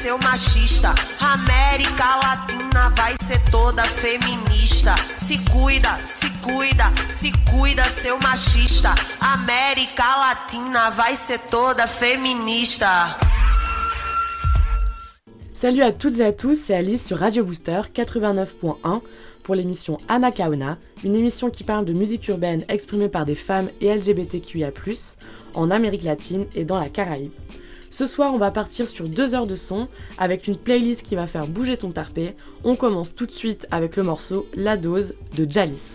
seu machista. América Latina vai ser toda feminista. Se cuida, se cuida, se cuida, seu machista. América Latina vai ser toda féminista. Salut à toutes et à tous, c'est Alice sur Radio Booster 89.1 pour l'émission Anacaona, une émission qui parle de musique urbaine exprimée par des femmes et LGBTQIA+, en Amérique latine et dans la Caraïbe. Ce soir, on va partir sur 2 heures de son avec une playlist qui va faire bouger ton tarpé. On commence tout de suite avec le morceau La Dose de Jalis.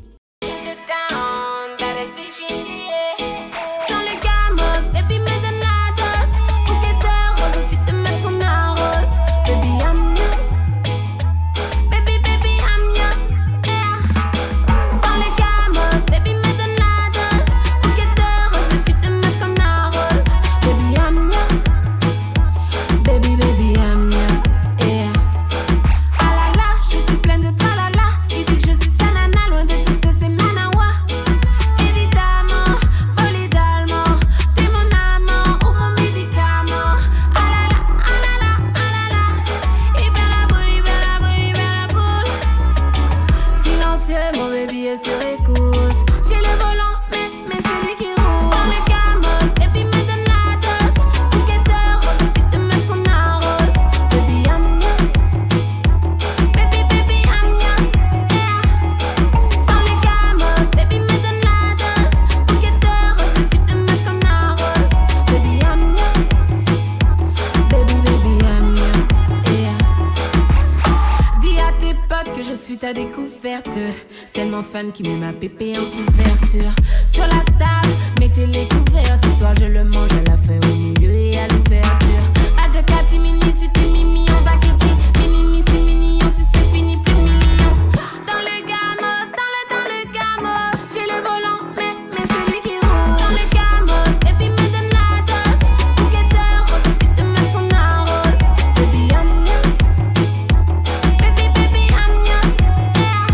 Qui met ma pépé en couverture. Sur la table, mettez les couverts. Ce soir je le mange à la fin, au milieu et à l'ouverture. Pas de catimini, si t'es mimi, on va quitter. Minimi, c'est mignon, si c'est fini, plus mignon. Dans le gamos, dans le gamos. J'ai le volant, mais c'est lui qui roule. Dans le gamos, baby me donne la dose. Bouqueteur, rose, type de meuf qu'on arrose. Baby I'm yours, baby I'm yours, yeah.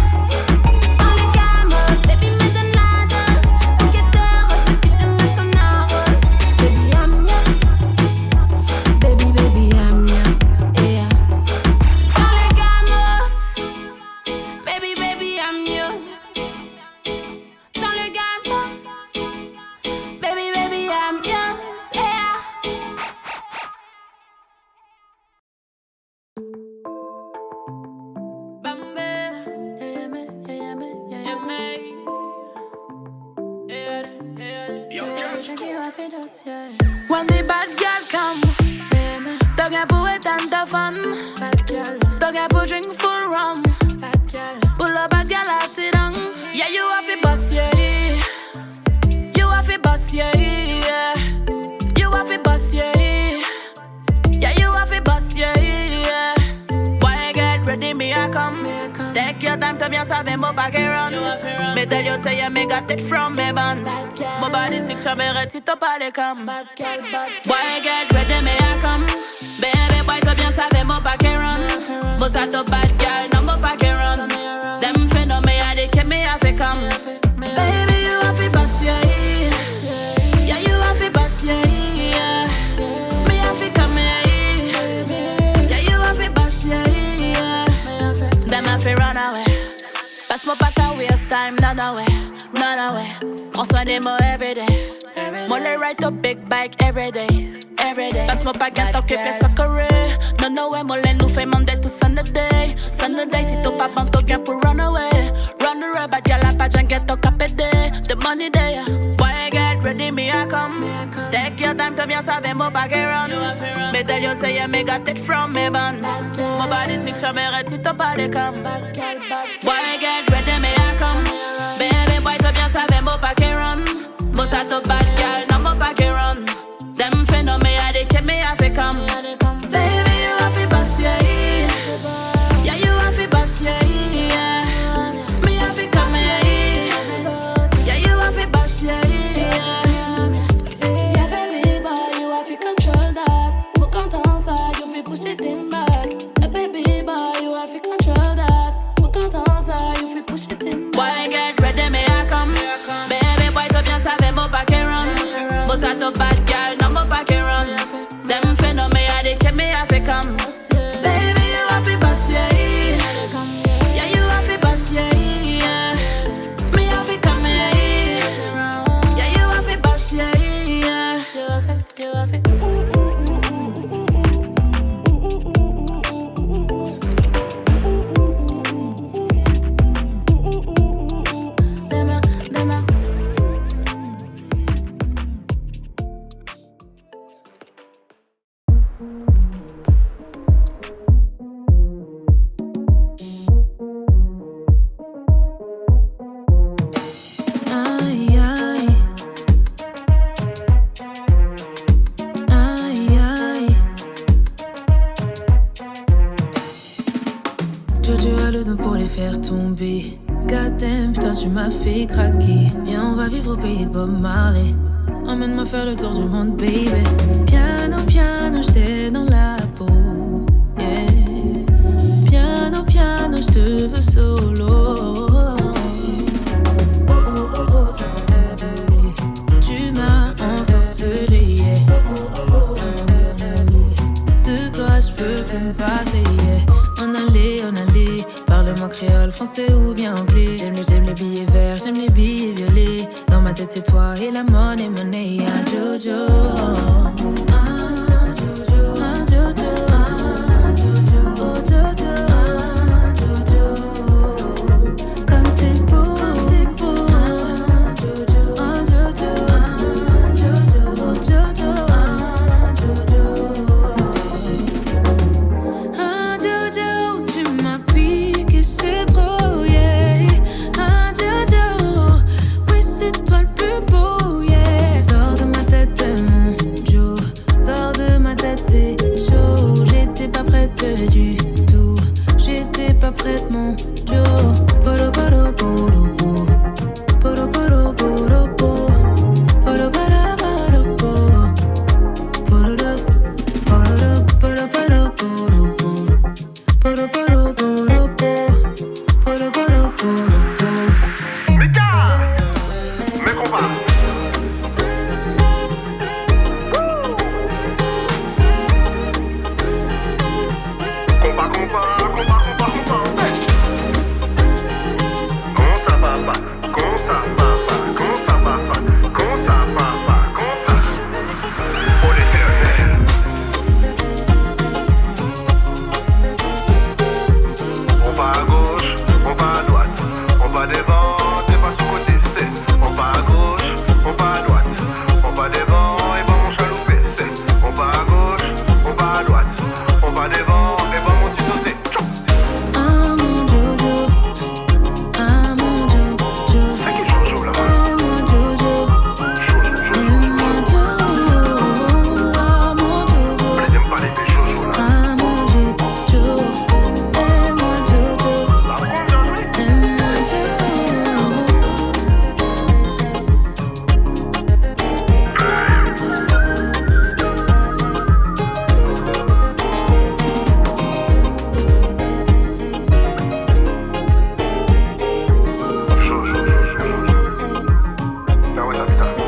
When the bad girl come, don't get put with tanta fun. Don't get put drink full rum. Pull up bad girl, I sit down. Yeah, you have to bust, yeah. You have to bust, yeah. You have to bust, yeah. Yeah, you have to bust, yeah. Why get ready, me I come. Take your time to bien savoir mon paquet run. Me tell you say yeah, me got it from me band. My body sick, tu me ready to parler comme. Boy get ready, me I come. Baby boy to bien savoir mon paquet run. Most of the bad girl, no mon paquet run. Them finna me a they keep me have to come. Baby you have to bust yeah. Yeah you have to bust yeah. Me have to come yeah. Yeah you have to bust yeah. Them have to run away. Passe moi pas qu'à waste time, none away. Prends soin des mots everyday. Moi les ride up big bike everyday. Passe moi pas qu'à t'occuper ça correct. Non ouais, moi les nous fait Monday to Sunday. Si t'as pas bon t'as gain pour run away. Bad girl a pas j'en get au capédé. The money there. Boy get ready, me I come. Take your time to bien savoir mon paquet run. Me tell you say yeah, me got it from me band. My body sick, tu me ready si t'as pas les come. Boy get ready, me I come. Baby boy to bien savoir mon paquet run. Most of the bad girl, no mon paquet run. Them finna me a they keep me have to come. Baby you have to bust yeah. Yeah you have to bust yeah. Me have to come yeah. Yeah you have to bust yeah. Yeah baby boy you have to control that. More content ça you fi push it in back. Baby boy you have to control that. More content ça you fi push it in back. Boy get ready me I come. Baby boy to bien savoir mon paquet run. Most of the bad girl no mon paquet run. Them finna me a they keep me have to come. Goddamn, putain tu m'as fait craquer. Viens on va vivre au pays de Bob Marley. Emmène-moi faire le tour du monde baby. Piano, piano, j'étais dans la peau, yeah. Piano, piano, j'te veux solo. Tu m'as ensorcelé, yeah. De toi j'peux plus me passer, yeah. On allait, parle-moi créole, français ou bien anglais. J'aime les billets verts, j'aime les billets violets. Dans ma tête c'est toi et la money, ah Jojo. Ah Jojo, ah Jojo, ah Jojo, oh Jojo, ah Jojo. Comme t'es beau, ah Jojo, ah Jojo, ah Jojo, oh Jojo, ah Jojo. Ah Jojo, tu m'as piqué, c'est trop, yeah. Ah Jojo, oui c'est toi le plus beau, yeah. Sors de ma tête mon Joe, sors de ma tête c'est chaud. J'étais pas prête du tout, j'étais pas prête mon Joe. Poro poro poro poro, poro poro poro poro, poro poro poro poro, poro poro poro poro poro, poro poro poro poro, poro poro poro. Mais combat. On va à gauche, on va à droite, on va devant, t'es pas sous côté, c'est. On va à gauche, on va à droite, on va devant et bon mon chaloupé, c'est. On va à gauche, on va à droite, on va devant et bon mon petit sauté. Ah mon Jojo, ah mon Jojo, C'est qui Jojo là? eh mon Jojo, eh mon Jojo, ah mon Jojo, On les aime pas les bébés Jojo là. ah mon Jojo, eh mon Jojo, La prendre bien joué. eh mon Jojo. Jojo. Ah ouais, ça fait ça.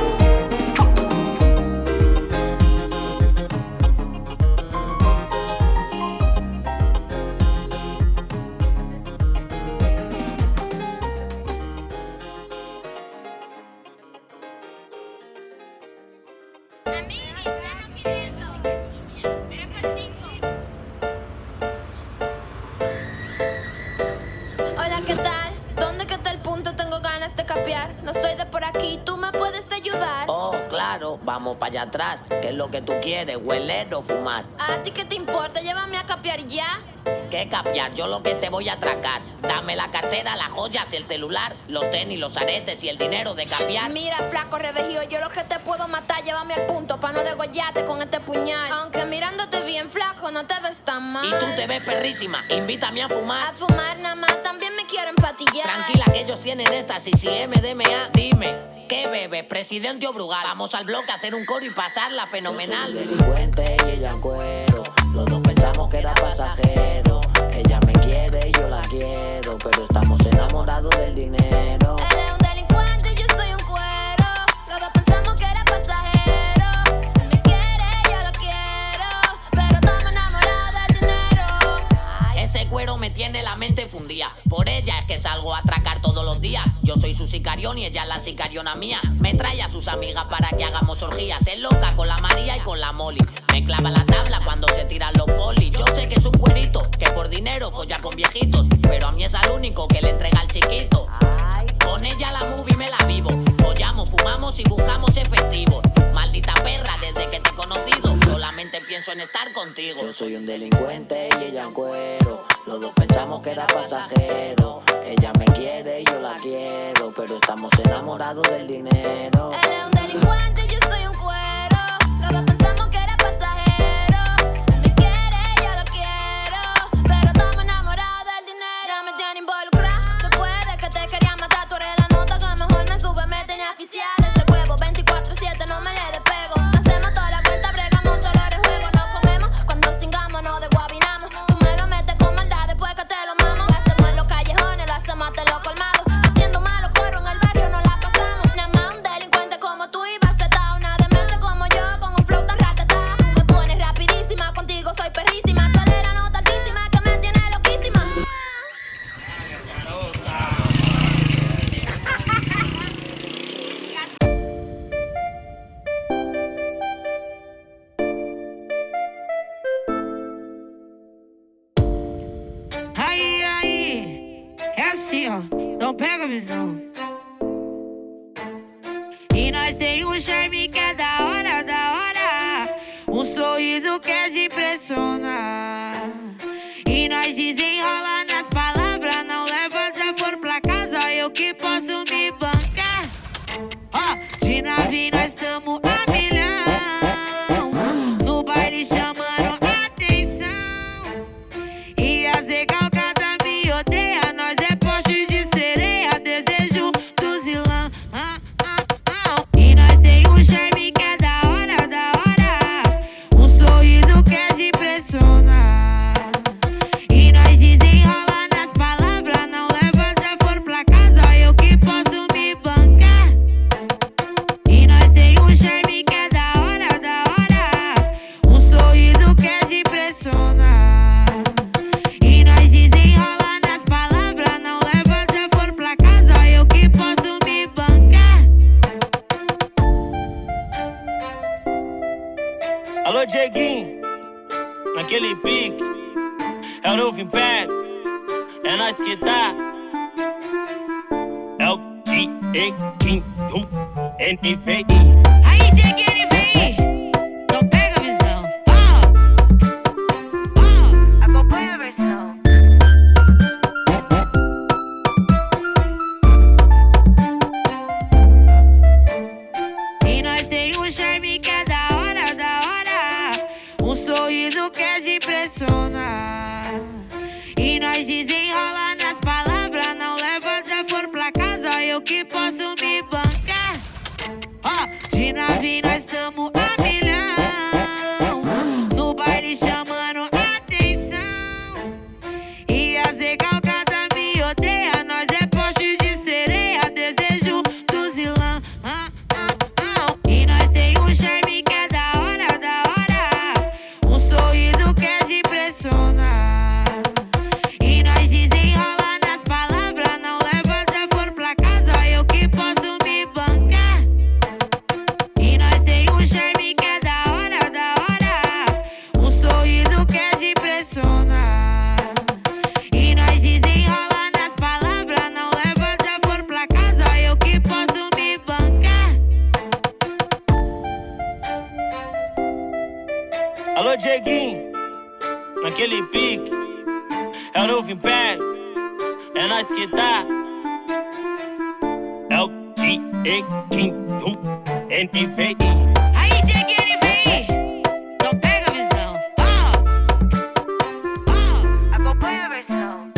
Hola, ¿qué tal? ¿Dónde que está el punto? Tengo ganas de capear. No soy de por aquí, ¿tú me puedes ayudar? Oh, claro, vamos para allá atrás. ¿Qué es lo que tú quieres, hueler o fumar? ¿A ti qué te importa? Llévame a capear y ya. ¿Qué capiar? Yo lo que te voy a atracar. Dame la cartera, las joyas, el celular, los tenis, los aretes y el dinero de capiar. Mira, flaco revejío, yo lo que te puedo matar, llévame al punto pa' no degollarte con este puñal. Aunque mirándote bien flaco, no te ves tan mal. Y tú te ves perrísima, invítame a A fumar. fumar nada más, también me quiero empatillar. Tranquila que ellos tienen éxtasis y MDMA. Dime, ¿qué bebes? Presidente o Brugal. Vamos al bloque a hacer un coro y pasarla fenomenal. Delincuente y ella en cuero. Los dos pensamos que era pasajero. Ella me quiere y yo la quiero, pero estamos enamorados del dinero. Él es un delincuente y yo soy un cuero. Los dos pensamos que era pasajero. Él me quiere, yo lo quiero, pero estamos enamorados del dinero. Ese cuero me tiene la mente fundida. Por ella es que salgo a atracar todos los días. Yo soy su sicarión y ella es la sicariona mía. Me trae a sus amigas para que hagamos orgías. Es loca con la María y con la Molly. Me clava la tabla cuando se tiran los polis. Yo sé que es un cuerito que por dinero folla con viejitos, pero a mí es al único que le entrega al chiquito. Con ella la movie me la vivo. Follamos, fumamos y buscamos efectivos. Maldita perra, desde que te he conocido solamente pienso en estar contigo. Yo soy un delincuente y ella en cuero. Los dos pensamos que era pasajero. Ella me quiere y yo la quiero, pero estamos enamorados del dinero. Él es un delincuente y yo soy un cuero. Los dos pensamos que era pasajero. Él me quiere, yo lo quiero, pero estamos enamorados del dinero. Ya me tiene involucrado después de que te quería pega a visão. E nós tem um charme que é da hora, da hora. Um sorriso que é de impressionar. E nós desenrola nas palavras. Não leva desaforo pra casa, eu que posso me bancar. De nave nós tamo a milhão. No baile chamando atenção. E as recalcadas me odeia. Nós é poste de sereia, desejo do zilão. E nós tem um charme que é da hora, da hora. Um sorriso que é de impressionar. E nós desenrola nas palavras. Não leva desaforo pra casa, eu que posso me bancar. E nós tem um charme que é da hora, da hora. Um sorriso que é de impressionar. E nós desenrola nas palavras. Não leva desaforo pra casa, eu que posso me bancar. Alô, Dieguinho, naquele pique. É o novo Império, é nós que tá. É o Dieguinho, NVI. Aí, Dieguinho, vem. Não pega a visão. Acompanha a versão. E nós tem um charme que é da hora, da hora. Um sorriso que é de impressionar. E nós desenrola nas palavras. Não leva desaforo pra casa, eu que posso me bancar. De nave nós tamo a milhão. No baile chamando atenção. E as recalcadas me odeia. Nós é poste de sereia, desejo do zilão. E nós tem um charme que é da hora, da hora. Um sorriso que é de impressionar. E nós desenrola nas palavras. Não leva desaforo pra casa, eu que posso me bancar. E nós tem um charme que é da hora, da hora. Um sorriso que é de impressionar. E nós desenrola nas palavras. Não leva desaforo pra casa, eu que posso me bancar. Alô, Dieguinho, naquele pique. É o novo Império, é nós que tá. É o Dieguinho, NVI. Aí, Dieguinho, vem. Não pega a visão. Acompanha a versão.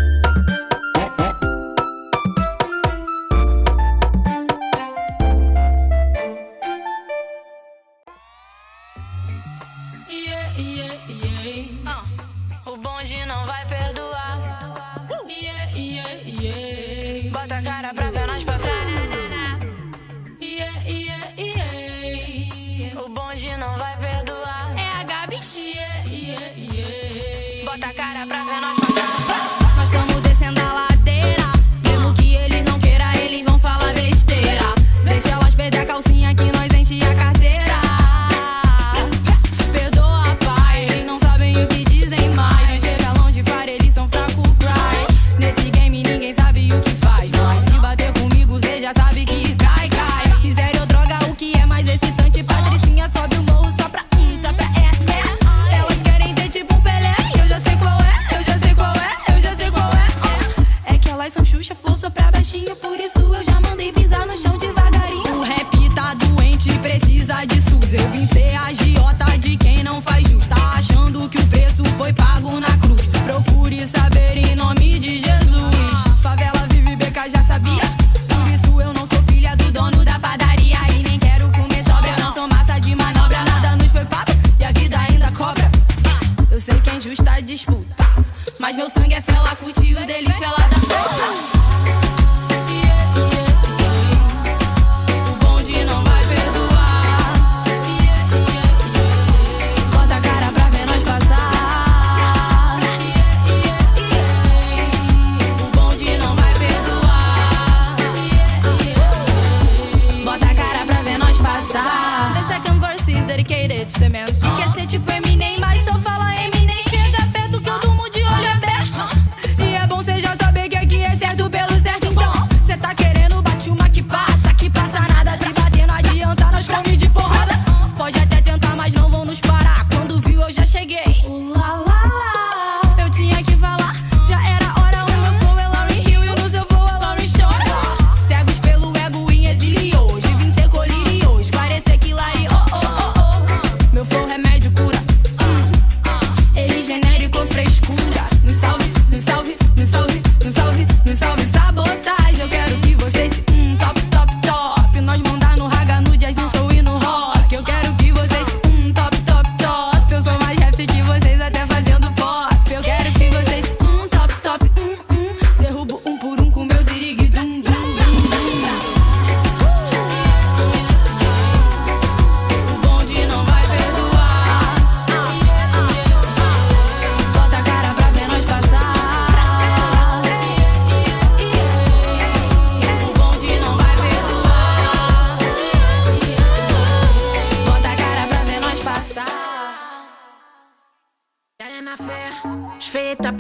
O bonde não vai perdoar. Bota a cara pra ver nós passar. O bonde não vai perdoar. É a Gabi. Bota a cara pra ver nós passar. Nós estamos descendo a ladeira. Mesmo que eles não queiram, eles vão falar besteira. Deixa elas perder a calcinha que nós enche a carteira. Perdoa, pai, eles não sabem o que dizem mais. Não chega longe, fara, eles são fraco, cry. Nesse game ninguém sabe o que faz, mas se bater comigo, cê já sabe que cai, cai. Quiser ou droga, o que é mais excitante? Patricinha sobe o morro só pra Elas querem ter tipo um Pelé. Eu já sei qual é, eu já sei qual é, eu já sei qual é. É que elas são Xuxa, flow só pra baixinho. Por isso eu já mandei pisar no chão devagarinho. O rap tá doente, precisa de SUS. Eu vim ser agiota de quem não faz jus. Tá achando que o preço foi pago na cruz. Procure saber em nome de Jesus. Favela vive beca, já sabia. Por isso eu não sou filha do dono da padaria. E nem quero comer sobra, eu não sou massa de manobra. Nada nos foi pago e a vida ainda cobra. Eu sei que é injusta a disputa, mas meu sangue é fela, curte o deles fela da O bonde não vai perdoar. Bota a cara pra ver nós passar. O bonde não vai perdoar. Bota a cara pra ver nós passar. The second verse is dedicated to the man que quer ser tipo Eminem, mas só fala Eminem. Chega perto que eu durmo de olho aberto. E é bom cê já saber que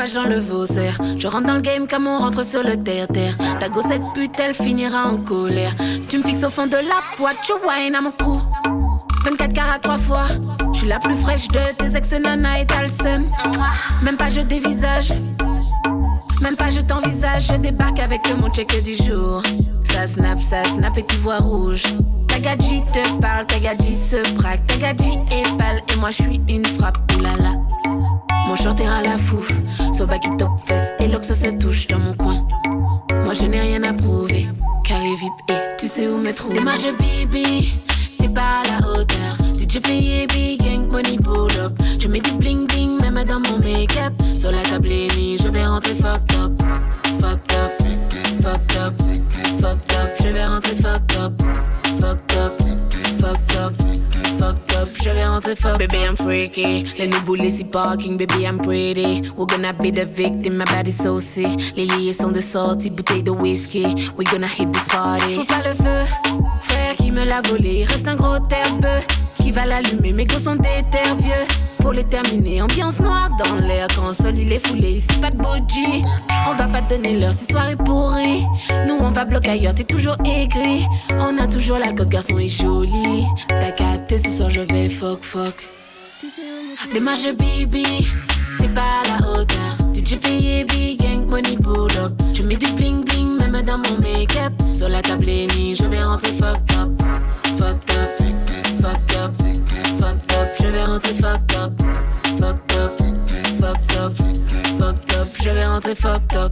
visage dans le faussaire. Je rentre dans le game comme on rentre sur le terre-terre. Ta gossette pute, elle finira en colère. Tu me fixes au fond de la boîte, tu whine à mon cou. 24 carats 3 fois. Je suis la plus fraîche de tes ex-nana et t'as le seum. Même pas je dévisage. Même pas je t'envisage. Je débarque avec mon check du jour. Ça snap et tu vois rouge. Ta gadji te parle, ta gadji se braque. Ta gadji est pâle et moi je suis une frappe. Oulala. Mon short est à la fouf. Sauva qui top fesse et l'ox se touche dans mon coin. Moi je n'ai rien à prouver. Carré VIP et tu sais où me trouver. Moi je bibi, t'es pas à la hauteur. DJ fait big gang, money pull up. Je mets du bling bling même dans mon make-up. Sur la table je vais rentrer fucked up. Fucked up, fucked up, fucked up. Je vais rentrer fucked up. Fucked up, fucked up, fucked up. Je vais rentrer fucked up. Baby I'm freaky. Les new bullies si parking, baby I'm pretty. We're gonna be the victim, my body so sick. Les liés sont de sortie, bouteille de whisky. We're gonna hit this party. J'ouvre pas le feu, frère qui me l'a volé. Reste un gros terbeux qui va l'allumer. Mes gosses sont des terres vieux. Pour les terminer, ambiance noire dans l'air. Quand le sol il est foulé, ici pas de bougie. On va pas te donner l'heure, si soirée pourrie. Nous on va bloquer ailleurs, t'es toujours aigri. On a toujours la cote, garçon est joli. T'as capté, ce soir je vais fuck. Démarche bibi, t'es pas à la hauteur. DJ fait big gang, money pull up. Je mets du bling bling, même dans mon make-up. Sur la table je vais rentrer fucked up. Fucked up, fucked up, fucked up. Je vais rentrer fucked up. Fucked up, fucked up, fucked up. Je vais rentrer fucked up.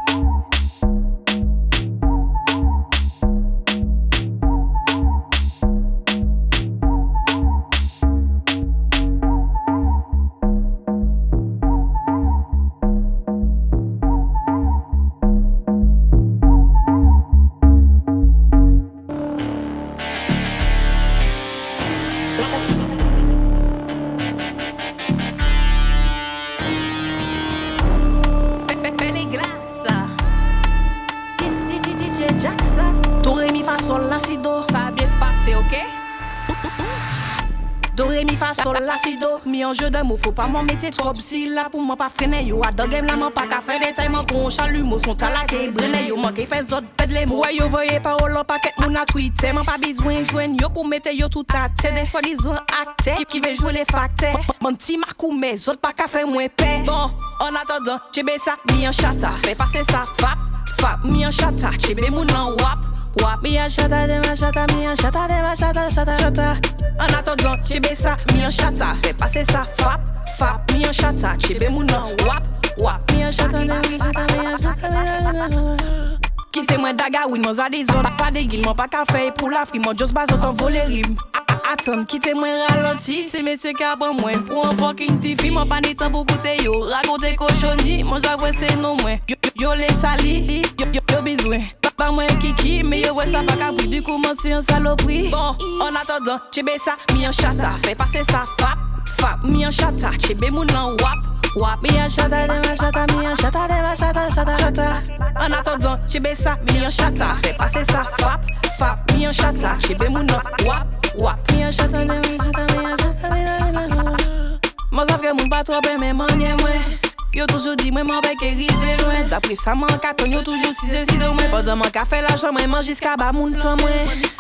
Sol la si do, mi en jeu de mots, faut pas m'en mettre trop si là pour moi pas freiner yo. A dans game là m'en pas qu'à faire des tailles, qu'on chalume son talaké, brené yo, manqué fait zot pède les mots. Ouais yo voyez parole en paquet mon a tweeté, m'en pas besoin joindre yo pour mettre yo tout à tête des soi-disant acteurs qui veut jouer les facteurs. Mon petit marcou mais zot pas qu'à faire moins paix. Bon, en attendant, chébé ça, mi en chata, fait passer ça fap, mi en chata, chébé mon en wap. Wap, mi en chata de ma chata, mi en chata de ma chata. En attendant, chébé ça, mi en chata, fait passer ça fap, mi en chata, chébé mon nom, wap, mi en chata de ma chata, mi en chata. Quitte moi daga, oui, mon zadizon, pas de guil, mon pas café pour la fri, mon just bas autant voler rime. Attends, quitte moi ralenti, c'est messieurs qui apprennent moins pour un fucking tifi, mon pas ni temps pour goûter yo, raconter cochonnerie, mon j'avoue c'est non moins. Yo les sali, yo besoin. Pas moi kiki, mais yo ouais ça pas qu'à du coup mon c'est un saloperie. Bon, en attendant, chébé ça, mi en chata, fait passer ça fap, mi en chata, chébé mon nom wap, mi en chata de ma chata, mi en chata de ma chata. En attendant, chébé ça, mi en chata, fait passer ça fap, mi en chata, chébé mon nom wap, mi en chata de ma chata, mi en chata. Moi ça fait mon pas trop mais m'en est moins. Yo toujours dit moi m'en vais qu'y rive loin. D'après ça m'en carton yo toujours si c'est si de moi. Pendant mon café l'argent moi mange jusqu'à bas mon temps moi.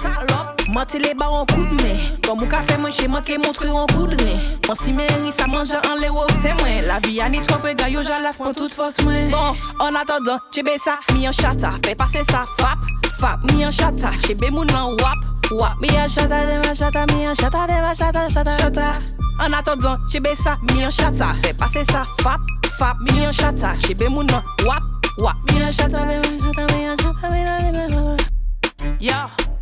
Moi les bas en coup de main. Comme mon café moi chez moi qui montre en coup de rein. Moi si mairie ça mange en l'euro c'est moi. La vie a ni trop peu gars yo j'alas pour toute force moi. Bon en attendant chébé ça mi en chata fait passer ça fap mi en chata chébé mon nom wap mi en chata de ma chata mi en chata de ma chata. En attendant chébé ça mi en chata fait passer ça fap mi en chata chébé mon nom wap mi en chata de ma chata mi en chata mi en chata. Yo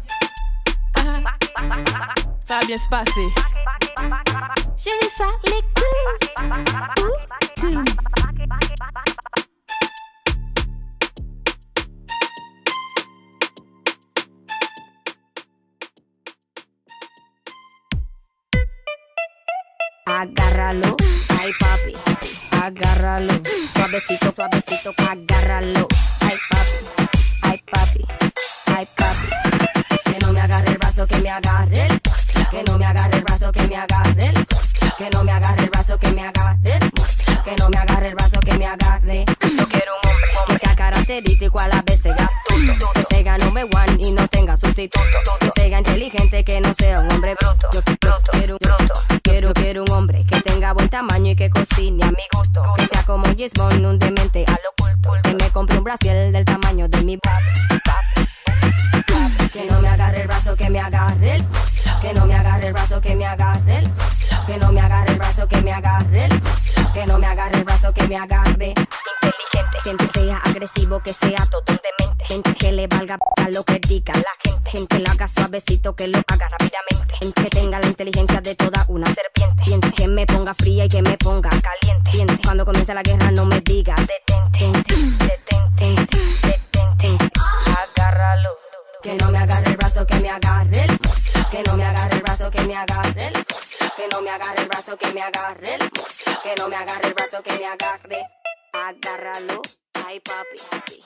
ça va bien se passer. J'ai dit ça les couilles. Agárralo, ay papi, agárralo, suavecito, suavecito, agárralo, ay papi, ay papi, que no me agarre el brazo, que me agarre el monstruo, que no me agarre el brazo, que me agarre el monstruo, que no me agarre el brazo, que me agarre el monstruo, que no me agarre el brazo, que me agarre. Yo quiero un hombre que sea característico, a la vez sea astuto, que sea number one y no tenga sustituto, que sea inteligente, que no sea un hombre bruto. Yo quiero un hombre que tenga buen tamaño y que cocine a mi gusto, que sea como Gismond, un demente al oculto, que me compre un brasier del tamaño de mi que no me agarre el brazo, que me agarre el muslo, que no me agarre el brazo, que me agarre el muslo, que no me agarre el brazo, que me agarre el muslo, que no me agarre el brazo, que me agarre. Inteligente, gente sea agresivo, que sea todo un demente, gente que le valga a lo que diga la gente, gente que lo haga suavecito, que lo haga rápidamente, gente que tenga la inteligencia de toda una serpiente, gente que me ponga fría y que me ponga caliente, gente cuando comience la guerra no me diga detente, agárralo. Que no me agarre el brazo, que me agarre el muslo, que no me agarre el brazo, que me agarre el muslo, que no me agarre el brazo, que me agarre el muslo, que no me agarre el brazo, que me agarre. Agárralo, ay papi.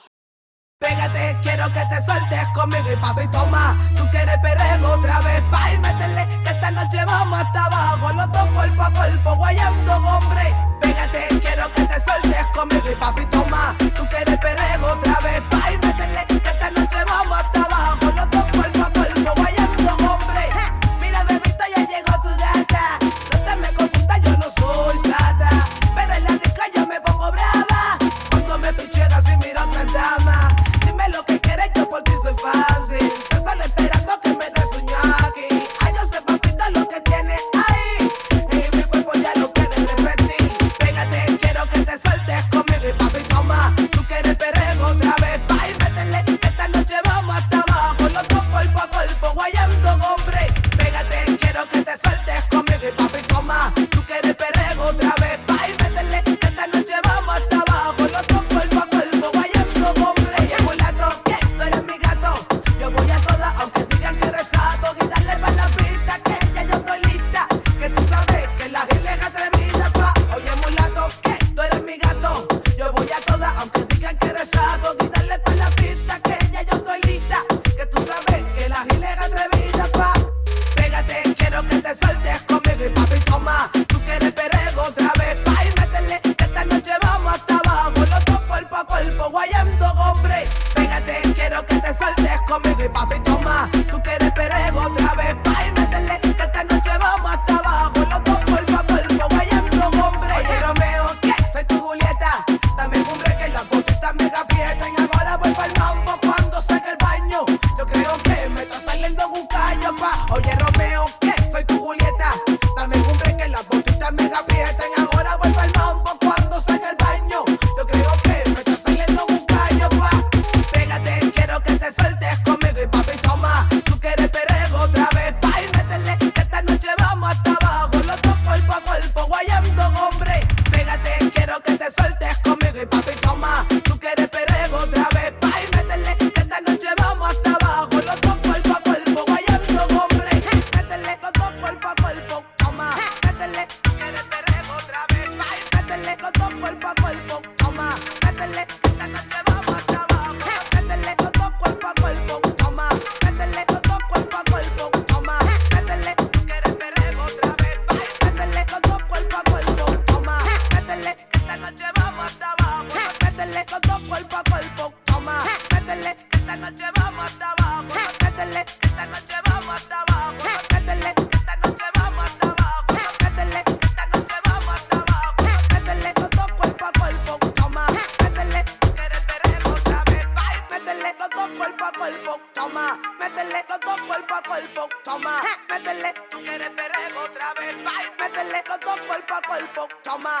Pégate, quiero que te sueltes conmigo y papi toma. Tú quieres perreo otra vez, pa' y métele, que esta noche vamos hasta abajo, los dos cuerpo a cuerpo, guayando hombre. Pégate, quiero que te sueltes conmigo y papi toma. Tú quieres perreo otra vez, pa' y métele, que esta noche vamos hasta abajo, los dos cuerpo a cuerpo, guayando hombre. Mira bebito, ya llegó tu gata, no te me confundas, yo no soy sata, pero en la disco yo me pongo brava cuando me pichegas y miro a otra dama. Dime lo que quieres, yo por ti soy fácil. Te están esperando que me des un ñaki. Ay, yo sé, papito, lo que tienes ahí. Y mi cuerpo ya lo quiere repetir. Pégate, quiero que te sueltes conmigo y papi toma. Tú quieres perreo otra vez, pa' y métele. Esta noche vamos hasta abajo, los dos cuerpo a cuerpo, guayando hombre. Pégate, quiero que te sueltes conmigo y papi toma. Tú quieres perreo otra vez, pa' y métele. Esta noche vamos hasta abajo, los dos cuerpo a cuerpo, guayando hombre. Oye, mulato, que tú eres mi gato. Yo voy a todas, aunque digan que eres sato. Y dale pa' la pista, que ya yo estoy lista. Que tú sabes que la gila es atrevida, pa. Oye, mulato, que tú eres mi gato. Yo voy a todas, aunque digan que eres sato. Y dale pa' la pista, que ya yo estoy lista. Que tú sabes que la gila es atrevida, pa. Pégate, quiero que te sueltes conmigo y papi toma. Tú quieres perreo otra vez, pa' y métele, que esta noche vamos hasta abajo, los dos cuerpo a cuerpo, guayando hombre. Pégate, quiero que te sueltes conmigo y papi toma. Tú quieres perreo otra vez, pa' y métele, que esta noche vamos hasta abajo, los dos cuerpo a cuerpo, guayando hombre. Oye Romeo, que soy tu Julieta, dame un break que las botitas me aprietan. Ahora voy pa'l mambo cuando salga el baño. Yo creo que me está saliendo un callo, pa. Oye Romeo, que soy tu Julieta, dame un break que las botitas me aprietan. Ahora voy pa'l mambo cuando salga el baño. Yo creo que me está saliendo un callo, pa. Pégate, quiero que te sueltes conmigo y papi toma. Tú quieres perreo otra vez, pa' y métele, que esta noche vamos hasta abajo, los dos cuerpo a cuerpo, guayando hombre. Pégate, quiero que te sueltes conmigo y papi toma. Tú quieres perreo otra vez, pa' y métele, que esta noche vamos hasta abajo, los dos cuerpo a cuerpo, guayando hombre. Métele, los dos cuerpo a cuerpo, toma. Métele, tú quieres perreo otra vez, pa' y métele, los dos cuerpo a cuerpo, toma. Métele, que esta noche vamos hasta abajo. Métele, los dos cuerpo a cuerpo, toma. Métele, los dos cuerpo a cuerpo, toma. Métele, tú quieres perreo otra vez, pa' y métele, los dos cuerpo a cuerpo, toma. Métele, que esta noche vamos hasta abajo. Métele, los dos cuerpo a cuerpo, toma. Métele, que esta noche vamos hasta abajo. Métele, que esta noche vamos hasta abajo. Métele, que esta noche vamos hasta abajo. Métele, que esta noche vamos hasta abajo. Métele, los dos cuerpo a cuerpo, toma. Métele, tú quieres perreo otra vez, pa' y métele, los dos cuerpo a cuerpo, toma. Métele, los dos cuerpo a cuerpo, toma. Métele, tú quieres perreo otra vez, pa' y métele, los dos cuerpo a cuerpo, toma.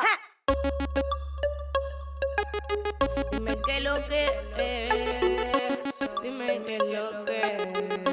Dime qué lo que es, dime qué lo que es.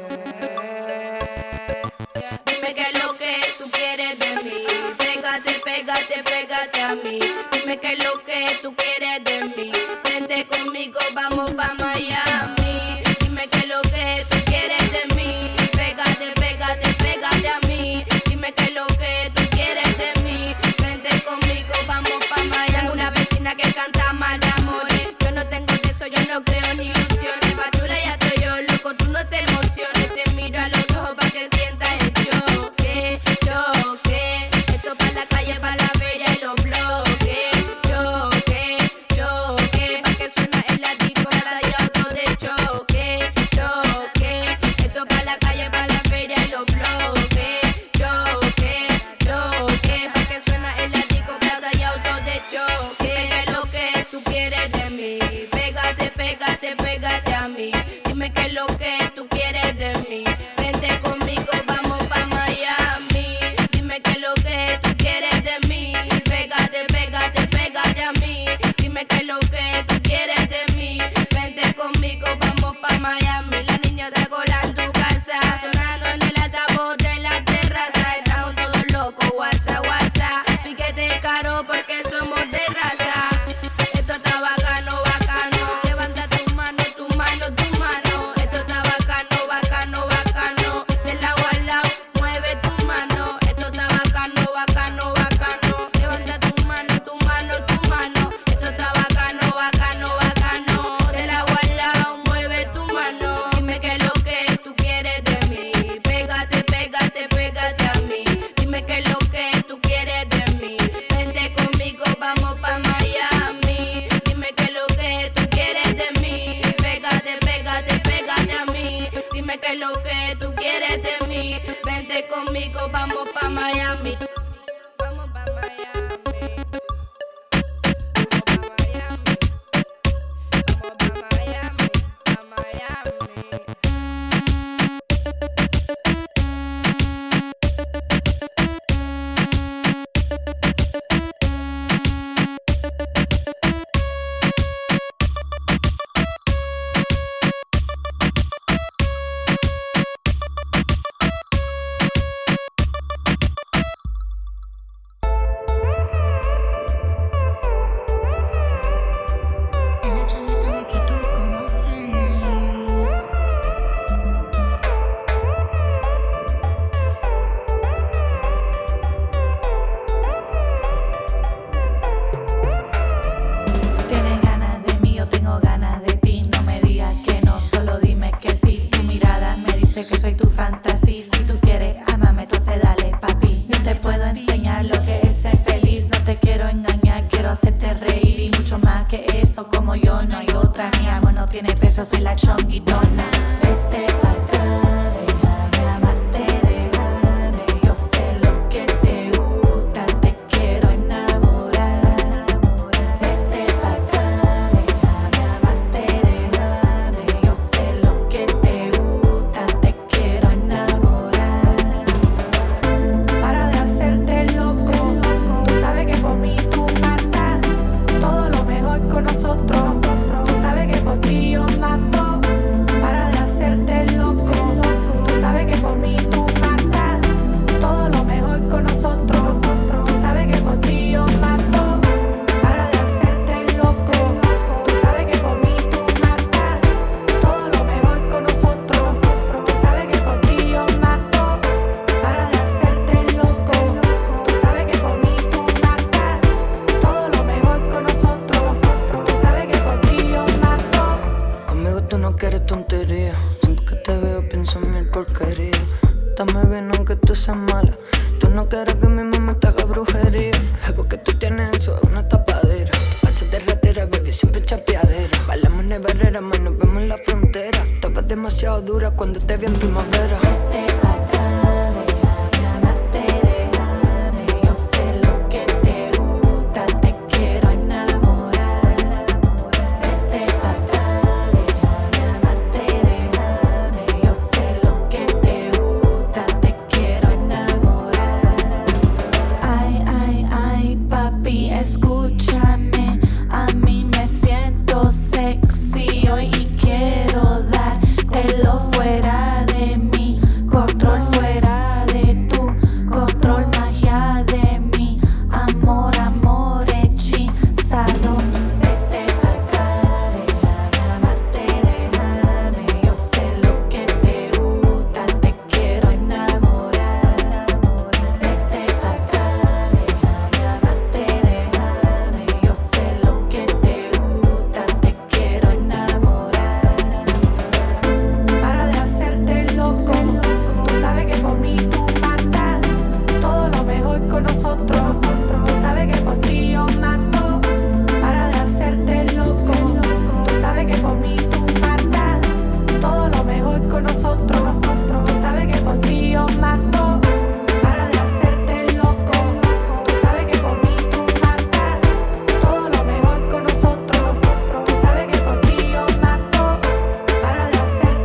Dime qué lo que tú quieres de mí. Pégate, pégate, pégate a mí. Dime qué lo que tú quieres de mí. Vente conmigo, vamos pa' Miami. Dime qué lo que tú quieres de mí. Pégate, pégate, pégate a mí. Dime qué lo que tú quieres de mí. Vente conmigo, vamos pa' Miami. Tengo una vecina que canta mal de amores. Yo no tengo de eso, yo no creo ni ilusiones. Pa' chula ya estoy yo, loco, tú no te emociones. Te miro a los ojos pa' que sientas el choque, choque. Esto pa' la calle, pa' la feria y los bloques, choque. Dime qué es lo que tú quieres de mí. Vente conmigo, vamos pa' Miami. Dime qué es lo que tú quieres de mí. Pégate, pégate, pégate a mí. Dime qué es lo que tú quieres de mí. Vente conmigo, vamos pa' Miami. La niña se cola en tu casa, sonando en el altavoz de la terraza. Estamos todos locos, WhatsApp, WhatsApp. Piquete caro porque somos de raza. Esto está bacano, bacano. Levanta tu mano, tu mano, tu mano. Esto está bacano, bacano, bacano. Del lado al lado, mueve tu mano. Esto está bacano, bacano, bacano. Levanta tu mano, tu mano, tu mano. Esto está bacano, bacano, bacano. Del lado al lado, mueve tu mano. Dime qué es lo que tú quieres de mí. Pégate, pégate, pégate a mí. Dime qué es lo que tú quieres de mí. Vente conmigo, vamos pa' Miami. Dime qué es lo que tú quieres de mí. Pégate, pégate, pégate a mí. Dime qué es lo que tú quieres de mí. Vente conmigo, vamos pa' Miami. Vamos pa' Miami. Vamos pa' Miami. Vamos pa' Miami. Pa' Miami. Tienes ganas de mí, yo tengo ganas de ti. No me digas que no, solo dime que sí. Tu mirada me dice que soy tu fantasía. Si tú quieres, ámame, entonces dale, papi. Yo te puedo enseñar lo que es ser feliz. No te quiero engañar, quiero hacerte reír. Y mucho más que eso, como yo, no hay otra. Mi amor no tiene peso, soy la chonguitona. Vete pa' acá, déjame amarte, déjame. Yo sé lo que te gusta, te quiero enamorar. Vete pa' acá, déjame amarte, déjame. Yo sé lo que te gusta, te quiero enamorar. Para de hacerte loco, tú sabes que por mí tú matas. Todo lo mejor con nosotros, tú sabes que por ti yo mato. Para de hacerte loco, tú sabes que por mí tú matas. Todo lo mejor con nosotros, tú sabes que por ti yo mato. Para de hacerte loco, tú sabes que por mí tú matas. Todo lo mejor con nosotros, tú sabes que por ti yo mato. Para de hacerte loco, tú sabes que por mí tú matas. Todo lo mejor con nosotros, tú sabes que por ti yo mato. Conmigo tú no quieres tontería. Siempre que te veo pienso en mil porquerías. Dame bien aunque tú seas mala. Tú no quieres que mi mamá te haga brujería. Es porque tú tienes eso, es una tapadera. Pasas de ratera, baby, siempre chapeadera. Bailamos en barrera, más nos vemos en la frontera. Estabas demasiado dura cuando te vi en primavera. Vete pa' acá, déjame amarte, déjame. Yo sé lo que te gusta, te quiero enamorar. Vete pa' acá, déjame amarte, déjame. Yo sé lo que te gusta, te quiero enamorar. Ay, ay, ay, papi, escúchame. A mí me siento sexy hoy y quiero dártelo fuera de mí. Control fuera de tu control, magia de mi amor, amor hechizado. Vete pa' acá, déjame amarte, déjame. Yo sé lo que te gusta, te quiero enamorar. Vete pa' acá, déjame amarte, déjame. Yo sé lo que te gusta, te quiero enamorar. Para de hacerte loco, tú sabes que por mí tú matas. Todo lo mejor con nosotros, tú sabes que por ti yo mato. Para de hacerte loco, tú sabes que por mí tú matas. Todo lo mejor con nosotros, tú sabes que por ti yo mato. Para de hacerte loco, tú sabes que por mí tú matas. Todo lo mejor con nosotros, tú sabes que por ti yo mato. Para de hacerte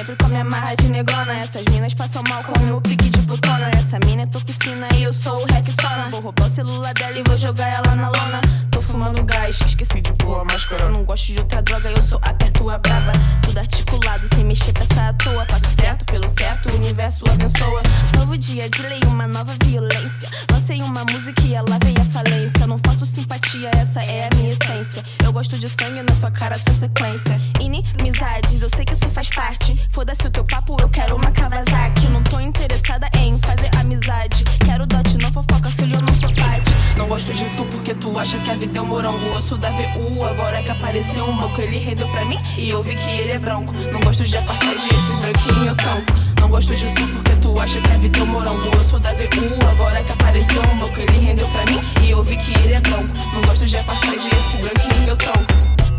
sempre com minha marra de negrona. Essas minas passam mal com o meu pique de putona. Essa mina é toxina e eu sou o Rexona. Vou roubar o celular dela e vou jogar ela na lona. Tô fumando gás, esqueci de pôr a máscara. Não gosto de outra droga, eu sou a pertua braba. Tudo articulado, sem mexer peça à toa. Faço certo pelo certo, o universo abençoa. Novo dia de lei, uma nova violência. Lancei uma música e ela veio à falência. Não faço simpatia, essa é a minha essência. Eu gosto de sangue na sua cara, sem sequência. Inimizades, eu sei que isso faz parte. Foda-se o teu papo, eu quero uma Kawasaki. Não tô interessada em fazer amizade. Quero dote, não fofoca, filho, eu não sou pade. Não gosto de tu porque tu acha que a vida é um morango. Eu sou da VU, agora que apareceu um banco. Ele rendeu pra mim e eu vi que ele é branco. Não gosto de apartheid, esse branquinho eu tanco. Não gosto de tu porque tu acha que a vida é um morango. Eu sou da VU, agora que apareceu um banco. Ele rendeu pra mim e eu vi que ele é branco. Não gosto de apartheid, esse branquinho eu tanco.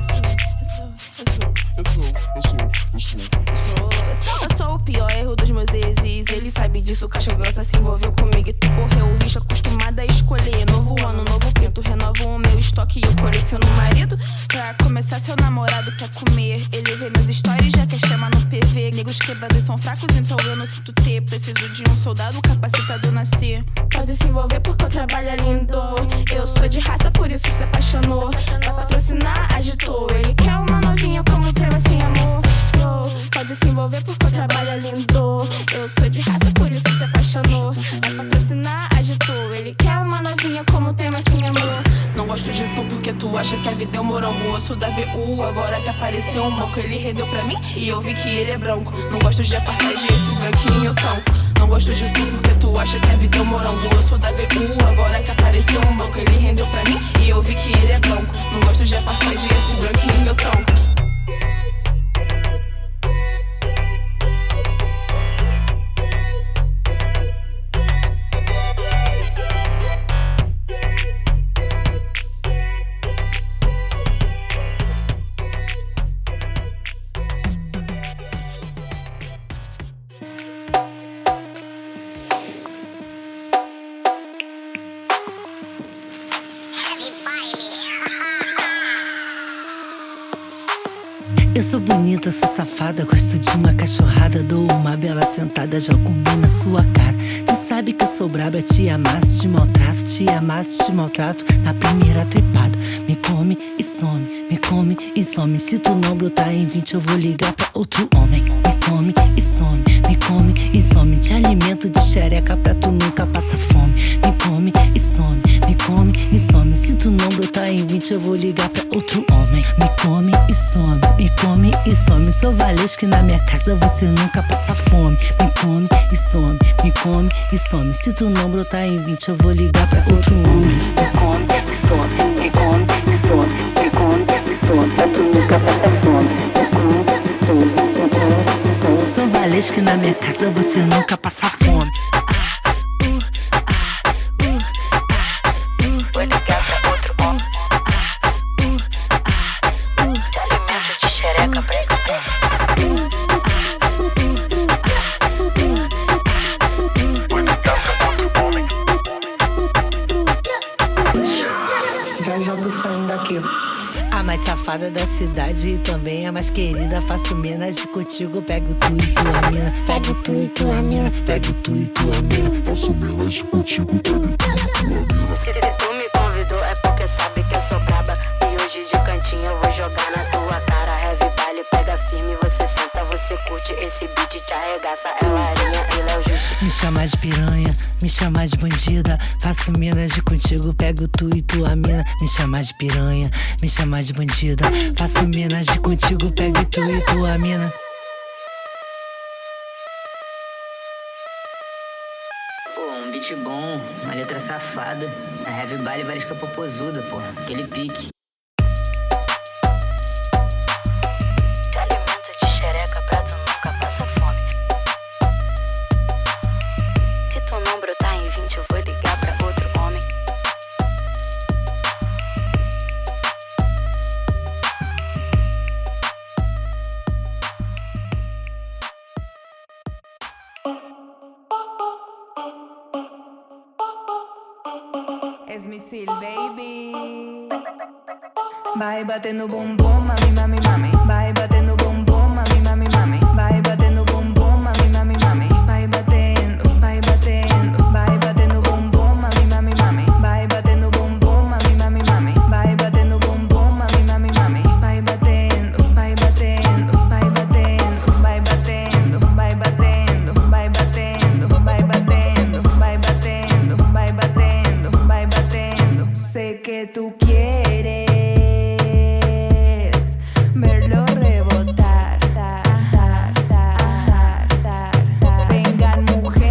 Eu sou o pior erro dos meus exes. Ele sabe disso, caixa grossa se envolveu comigo e tu correu o risco. Acostumada a escolher novo ano, novo pinto. Renovo o meu estoque e eu coleciono marido. Pra começar, seu namorado quer comer. Ele vê meus stories, já quer chamar no PV. Negros quebrados são fracos, então eu não sinto ter. Preciso de um soldado capacitado nascer. Pode se envolver porque o trabalho é lindo. Eu sou de raça, por isso se apaixonou. Pra patrocinar, agitou. Ele quer uma novinha como trema sem amor. Pode se envolver porque o trabalho é lindo. Eu sou de raça, por isso se apaixonou. Pra patrocinar, agitou. Ele quer uma novinha como tema sem amor. Não gosto de tu porque tu acha que a vida é um morango. Eu sou da VU, agora que apareceu um banco. Ele rendeu pra mim e eu vi que ele é branco. Não gosto de apartheid, esse branquinho eu tanco. Não gosto de tu porque tu acha que a vida é um morango. Eu sou da VU, agora que apareceu um banco. Ele rendeu pra mim e eu vi que ele é branco. Não gosto de apartheid, esse branquinho eu tanco. Eu sou bonita, sou safada, gosto de uma cachorrada. Dou uma bela sentada, já comi na sua cara. Tu sabe que eu sou braba, te amasso, te maltrato. Te amasso, te maltrato na primeira trepada. Me come e some, me come e some. Se tu não brotar em 20 eu vou ligar pra outro homem. Me come e some, me come e some. Te alimento de xereca pra tu nunca passar fome. Me come e some, me come e some. Se tu não brotar em 20 eu vou ligar pra outro homem. Me come e some, me come e some. Sou Valesca e na minha casa você nunca passa fome. Me come e some, me come e some. Se tu não brotar em 20 eu vou ligar pra outro homem. Me come e some, me come e some. Me come e some, pra tu nunca passa fome. Me come e some, me come e some. Sou Valesca e na minha casa você nunca passa fome. Vou ligar pra outro homem. Te alimento de xereca, prega. Já jogo o som daqui. A mais safada da cidade e também a mais querida. Faço homenagem contigo, pego tu e tua mina. Pego tu e tua mina, pego tu e tua mina. Faço homenagem contigo, pego tu e tua mina. Se tu me convidou é porque sabe que eu sou braba. E hoje de cantinho eu vou jogar na tua cara. Heavy baile, pega firme, você senta, você curte. Esse beat te arregaça, é Larinha, ele é o Justo. Me chama de piranha, me chama de bandida. Faço homenagem contigo, pego tu e tua mina. Me chama de piranha, me chama de bandida. Faço homenagem contigo, pego tu e tua mina. Pô, um beat bom, uma letra safada. A heavy baile Valesca popozuda, pô, aquele pique. Te alimento de xereca pra tu nunca passa fome. Se tu não brotar em 20 eu vou ligar pra outro homem. Es Missil, baby. Vai batendo bumbum, mami, mami, mami. Vai batendo bumbum, mami, mami, mami. Vai batendo tú quieres verlo rebotar. Vengan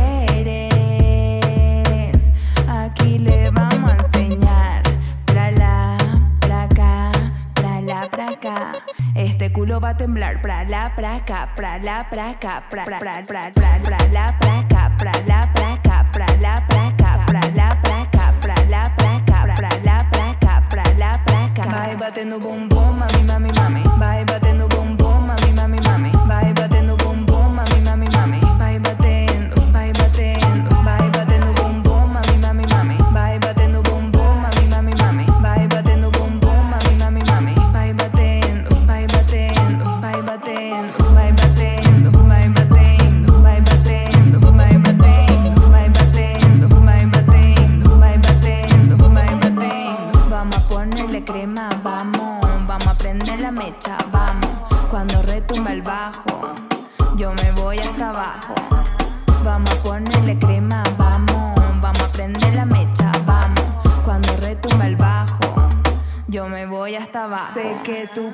mujeres, aquí le vamos a enseñar. Pra la, pra acá, pra la, pra acá. Este culo va a temblar. Pra la, pra acá, pra la, pra acá, pra la, pra acá, pra la, pra acá, pra la, pra acá, pra la, pra acá, pra la, pra acá, pra la, pra acá, pra la, pra acá. Vai batendo bumbum, mami, mami, mami. Vai batendo bumbum, mami, mami, mami. Vai batendo bumbum, mami, mami, mami. Vai batendo, vai batendo, vai batendo bumbum, mami, mami, mami. Vai batendo bumbum, mami, mami, mami. Vai batendo bumbum, mami, mami, mami. Vai batendo, vai batendo, vai batendo, vai batendo, vai batendo, vai batendo, vai batendo, vai batendo, vai batendo, vai batendo, vai batendo. Vamos a ponerle crema, vamos a prender la mecha, vamos. Cuando retumba el bajo, yo me voy hasta abajo. Vamos a ponerle crema, vamos a prender la mecha, vamos. Cuando retumba el bajo, yo me voy hasta abajo. Sé que tú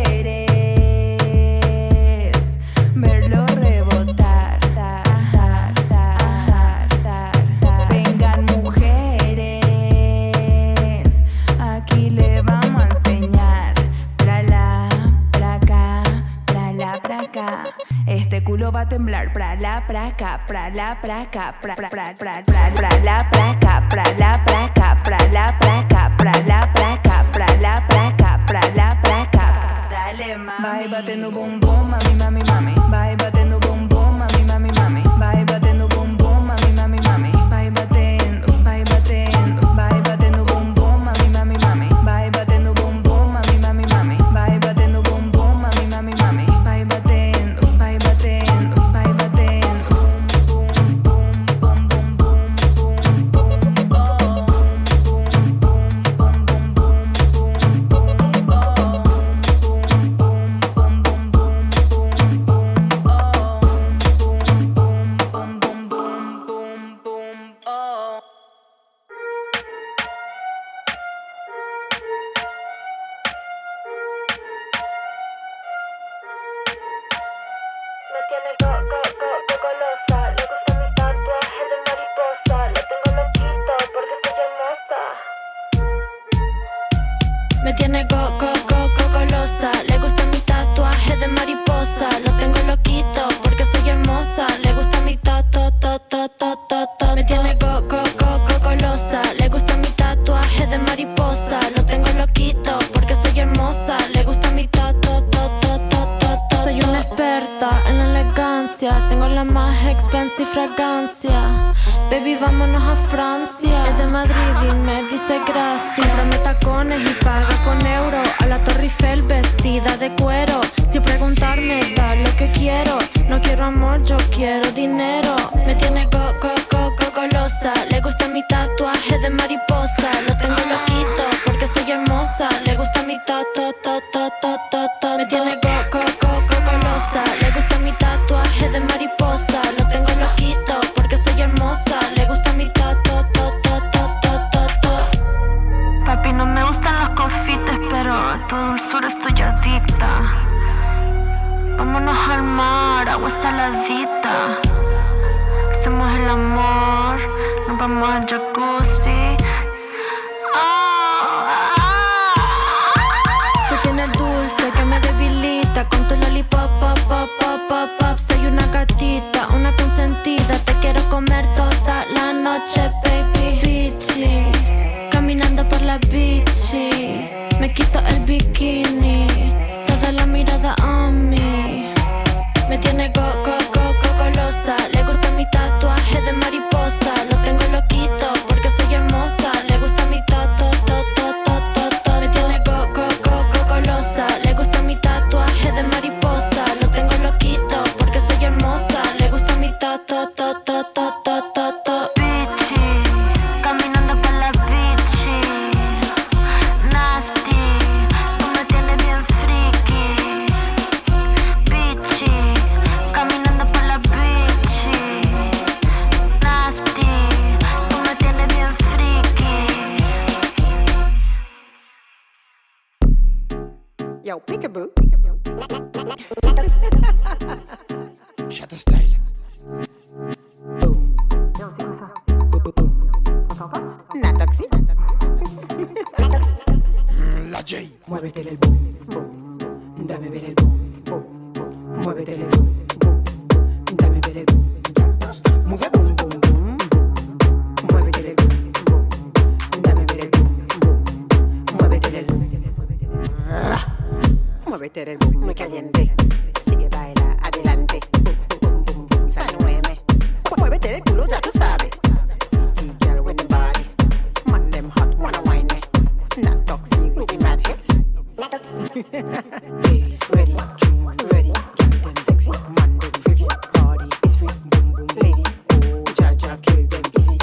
quieres verlo rebotar. Vengan mujeres, aquí le vamos a enseñar. Pra la, pra acá, pra la, pra acá. Este culo va a temblar. Pra la, pra acá, pra la, pra acá, pra la, pra acá, pra la, pra acá, pra la, pra acá, pra la, pra acá, pra la, pra acá, pra la, pra acá. Dale, mami. Vai batendo bumbum, mami, mami, mami. Vai batendo bumbum, mami, mami, mami. Vai batendo bumbum, mami, mami, mami. Vai batendo, vai batendo, vai batendo bumbum, mami, mami, mami. Vai batendo bumbum, mami, mami, mami. Vai batendo bumbum, mami, mami, mami. Vai batendo, vai batendo, vai batendo. Bum, bum, bum, bum, bum, bum, Me tiene golosa, le gusta mi tatuaje de mariposa. Lo tengo loquito porque soy hermosa. Le gusta mi Me tiene golosa, le gusta mi tatuaje de mariposa. Lo tengo loquito porque soy hermosa. Le gusta mi Soy una experta en la elegancia. Tengo la más expensive fragancia. Baby, vámonos a Francia. Es de Madrid y me dice gracias. Comprame tacones y paga con euro. A la Torre Eiffel vestida de cuero. Sin preguntarme, da lo que quiero. No quiero amor, yo quiero dinero. Me tiene golosa. Le gusta mi tatuaje de mariposa. Lo tengo loquito porque soy hermosa. Le gusta mi Me tiene golosa. Le gusta mi tatuaje de mariposa. Lo tengo loquito porque soy hermosa. Le gusta mi Papi, no me gustan los confites, pero a tu dulzura estoy adicta. Vámonos al mar, agua saladita. Hacemos el amor, nos vamos al jacuzzi. Tú tienes el dulce que me debilita. Con tu lollipop, pop, pop, pop, pop, pop. Soy una gatita, una consentida. Te quiero comer toda la noche, baby. Bitchy, caminando por la bici. Me quito el bikini, toda la mirada a mí. Me tiene golosa. Le gusta mi tatuaje de mariposa. Lo tengo loquito porque soy hermosa. Le gusta mi Me tiene golosa. Le gusta mi tatuaje de mariposa. Lo tengo loquito porque soy hermosa. Le gusta mi Bitchy, caminando por la bici. Nasty, tú me tienes bien free. Yo, peekaboo. Shatter style. Natoxi. La J. Muévete el boom. Dame ver el boom. Muévete el boom. Dame ver el boom. Mueve boom, boom, boom. Muévete el boom. Dame ver el boom. Muévete el boom. Muévete el boom, muy caliente. Sigue, baila, adelante. Boom, boom, boom, boom. Sanueme. Muévete el culo, ya tú sabes. Pretty girl with the body. Man, them hot, wanna whine it. Not toxic with the mad hits. Ladies, ready, true, ready. Get them sexy, man, them free. Party is free, boom, boom. Ladies, oh, Jaja, kill them easy.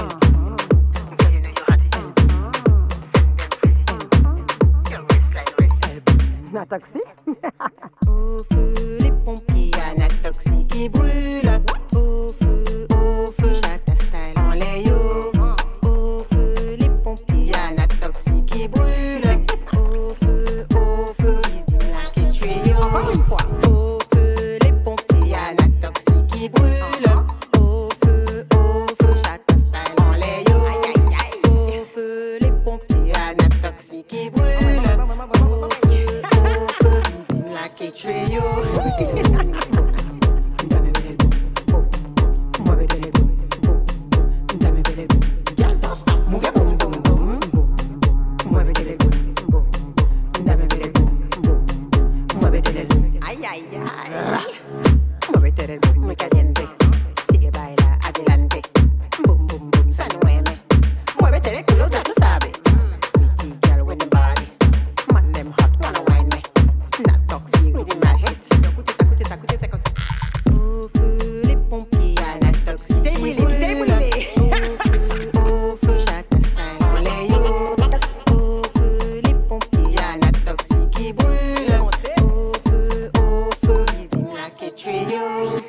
Natoxi. Au feu, les pompiers, y'a Natoxi qui brûle. Au feu, Shatta style en layo. Au feu, les pompiers, y'a Natoxi qui brûle. Au feu, il a qui tue. Encore une fois. Au feu, les pompiers, y'a Natoxi qui brûle. Au feu, Shatta style en layo. Au feu, les pompiers, y'a Natoxi qui brûle. Que trio. Dame ver el boom. Muévete el boom. Dame ver el boom. Girl, don't stop. Move your boom, boom, boom. Muévete el boom. Dame ver el boom. Muévete el boom. Ay, ay, ay. Muévete el boom, muy caliente. Sigue, baila, adelante. Boom, boom, boom, sanueme. Muévete el culo, ya tú sabes. Pretty girl with the body. Man, them hot, wanna whine me. Not toxic with the mad hits. Au feu, les pompiers, y'a Natoxi qui brûle. Au feu, Shatta style en layo. Au feu, les pompiers, y'a Natoxi qui brûle. Au feu, il a que trio.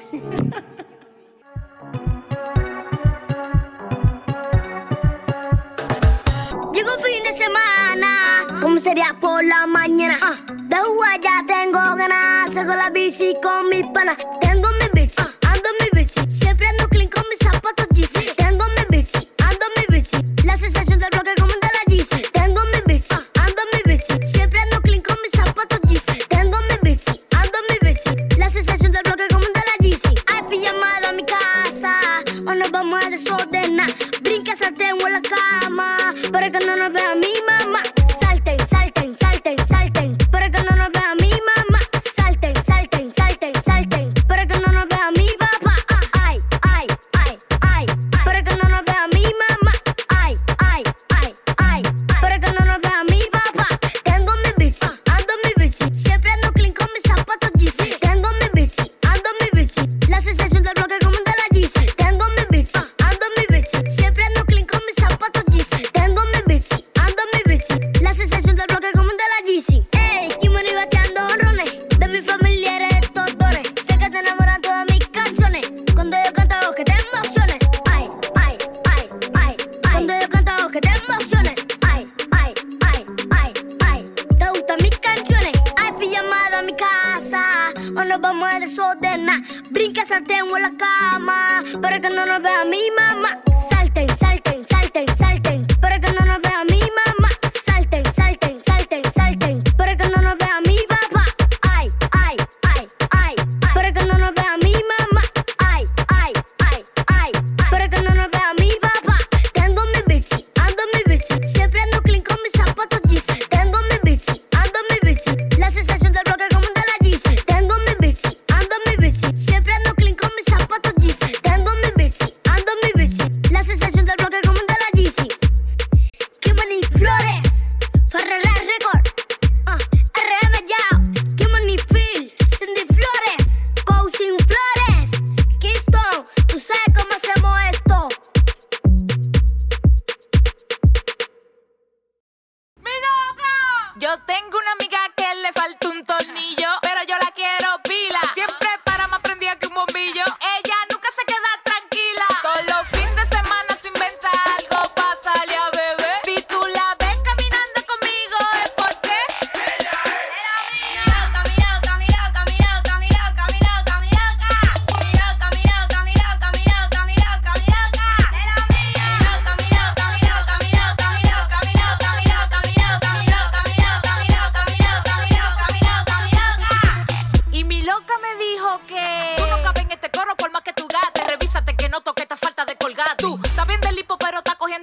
Llegó fin de semana, ¿cómo sería por la mañana? De jugar ya tengo ganas, saco la bici con mis panas. Tengo mi bici, ando mi bici, siempre ando clean con mis zapatos Yeezy. Tengo mi bici, ando mi bici, la sensación del bloque como de la Yeezy. Tengo mi bici, ando mi bici, siempre ando clean con mis zapatos Yeezy. Tengo mi bici, ando mi bici, la sensación del bloque como de la Yeezy. Hay pijamada a mi casa, o nos vamos a desordenar. Brinca, salteo en la cama, para que no nos vea mi mamá. Salten, salten, salten, salten, para que no nos vea mi mamá. Salten, salten, salten, salten, para que no nos vea mi papá. Ay, ay, ay, ay, para que no nos vea mi mamá. Ay, ay, ay, ay, para que no nos vea mi papá. Tengo mi bici, ando mi bici, siempre ando clean con mis zapatos Yeezy. Tengo mi bici, ando mi bici, la sensación del bloque como de la Yeezy. Tengo mi bici, ando mi bici, siempre ando clean con mis zapatos Yeezy. Tengo mi bici, ando mi bici, la sensación del bloque como de la Yeezy. Ey, Kimoni bateando honrones, de mi familia eres estos dones. Sé que te enamoran todas mis canciones, cuando yo canto hago que te emociones. Ay, ay, ay, ay, ay, cuando yo canto hago que te emociones. Ay, ay, ay, ay, ay, te gustan mis canciones. Hay pijamada a mi casa, o nos vamos a desordenar. Brinca, salteo en la cama, para que no nos vea mi mamá. Salten, salten, salten, salten, para que no nos vea mi mamá. Salten, salten, salten, salten, para que no nos vea mi papá. Ay, ay, ay, ay, para que no nos vea mi mamá. Ay, ay, ay, ay, para que no nos vea mi papá. Tengo mi bici, ando mi bici, siempre ando clean con mis zapatos Yeezy. Tengo mi bici, ando mi bici, la sensación del bloque como de la Yeezy. Tengo mi bici, ando mi bici, siempre ando clean con mis zapatos Yeezy. Tengo mi bici, ando mi bici, la sensación del bloque como de la Yeezy. Kimoni Flores, Ferrera Record, RM Yao, Kimoni Phil, Cindy Flores, Cousin Flores, Kingston, tú sabes cómo hacemos esto. Yo tengo una amiga que le falta un tornillo, pero yo la quiero pila. Siempre para más prendida que un bombillo. Ella nunca se queda tranquila. Todos los fines de semana se inventa algo para salir a beber. Si tú la ves caminando conmigo es porque ella es la mía.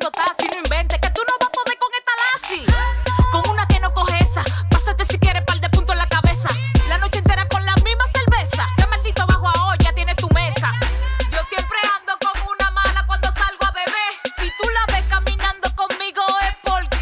cuando taxi. No inventes que tú no vas a poder con esta lazi. Con una que no coge esa. Pásate si quieres par de puntos en la cabeza. La noche entera con la misma cerveza. Qué maldito bajo a olla tiene tu mesa. Yo siempre ando con una mala cuando salgo a beber. Si tú la ves caminando conmigo es porque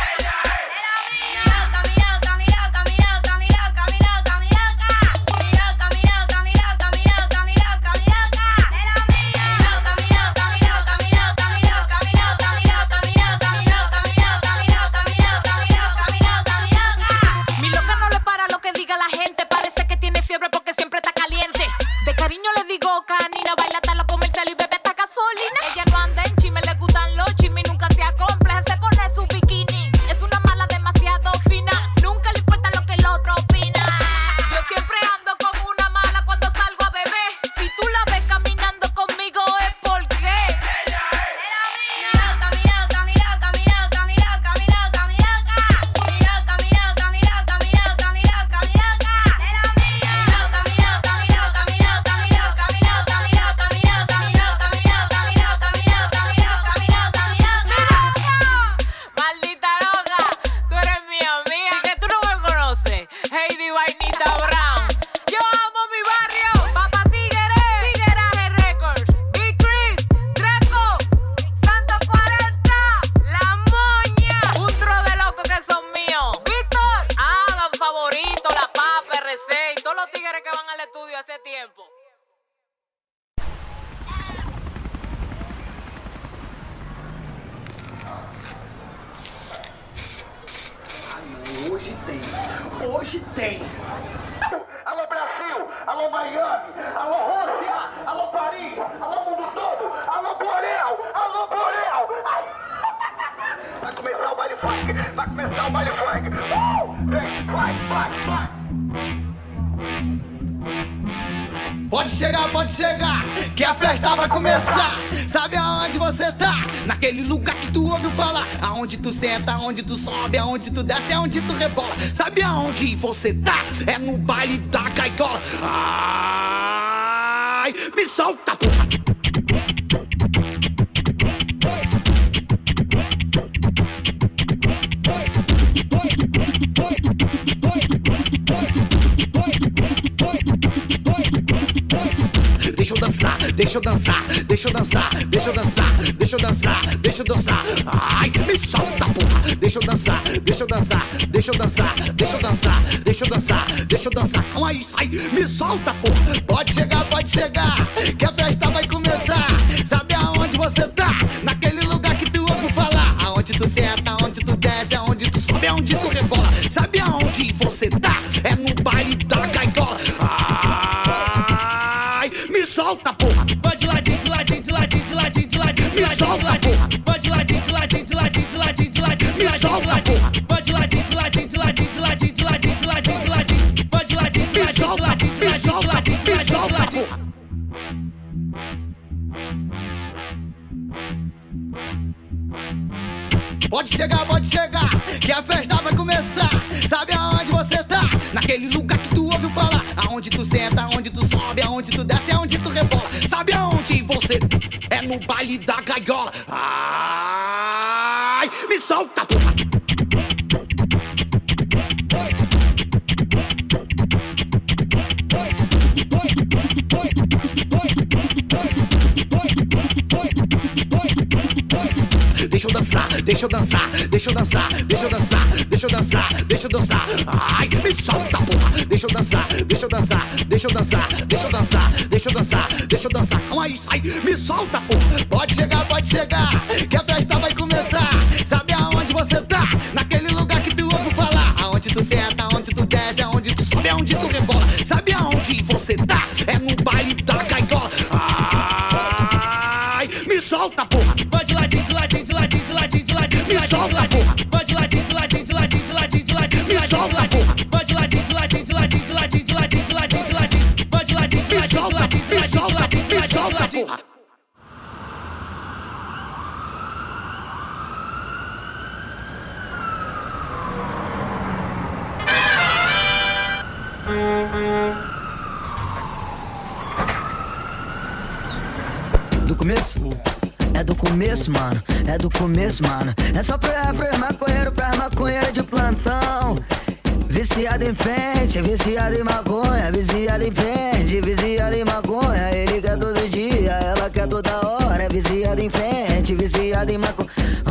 mi loca no le para lo que diga la gente. Parece que tiene fiebre porque siempre está caliente. De cariño le digo canina, baila hasta lo comercial y bebe hasta gasolina. Ella no anda en chisme, le gustan los chismes y nunca se acompleja, se pone su bikini. Es una mala demasiado fina, nunca le importa lo que el otro opina. Yo siempre ando con una mala cuando salgo a beber. Si tú la ves caminando conmigo es porque maldita loca, tú eres mía, mía. ¿Y que tú no me conoces? Heidi Vainita Brown. Yo amo mi barrio. Papa Tigre, Tigueraje Records, Big Chris, Draco, Santo 40, La Moña. Un tro de locos que son míos. Víctor, Adam Favorito, La Papa, RC y todos los tigres que van al estudio hace tiempo. Hoje tem. Hoje tem. Alô Brasil, alô Miami, alô Rússia, alô Paris, alô mundo todo, alô Borel, alô Borel. Ai. Vai começar o baile funk, vai começar o baile funk. Vem, vai. Pode chegar, que a festa vai começar. Sabe aonde você tá? Naquele lugar que tu ouviu falar. Aonde tu senta, aonde tu sobe, aonde tu desce, aonde tu rebola. Sabe aonde você tá? É no baile da Caigola. Ai, me solta, porra. Deixa eu dançar. Ai, me solta, porra. Deixa eu dançar. Calma aí, sai, me solta, porra. Pode chegar, que a festa vai começar. Sabe aonde você tá? Naquele lugar que tu ouviu falar. Aonde tu senta, aonde tu desce, aonde tu sobe, aonde tu rebola. Sabe aonde você tá? É no baile da Caigola. Ai, me solta, porra. Pode de ladinho. Me solta, porra. Pode de ladinho. Me solta, porra. Pode de ladinho. Pode de ladinho. Me solta, porra. Pode chegar, que a festa vai começar. Sabe aonde você tá? Naquele lugar que tu ouviu falar. Aonde tu senta, aonde tu sobe, aonde tu desce, aonde tu rebola. Sabe aonde você é no baile da Gaiola. Ai, me solta, porra. Deixa eu dançar. Ai, me solta, porra. Deixa eu dançar. Calma aí, sai, me solta, porra. Pode chegar, que a festa vai começar. Sabe aonde você tá? Naquele lugar que tu ouviu falar. Aonde tu senta, aonde tu desce, aonde tu sobe, aonde tu rebola. Sabe aonde você tá? É no baile da Gaiola. Ai, me solta, porra. Pode ladinho. Me solta, porra. Pode ladinho. Me solta, porra. Pode ladinho. Me solta, porra. Do começo? É do começo, mano. é do começo, mano. É só pros maconheiros, pras maconheiras de plantão. Viciado em pente, viciado em maconha, viciado em pente, viciado em maconha. Ele quer todo dia, ela quer toda hora. É viciado em pente, viciado em maconha.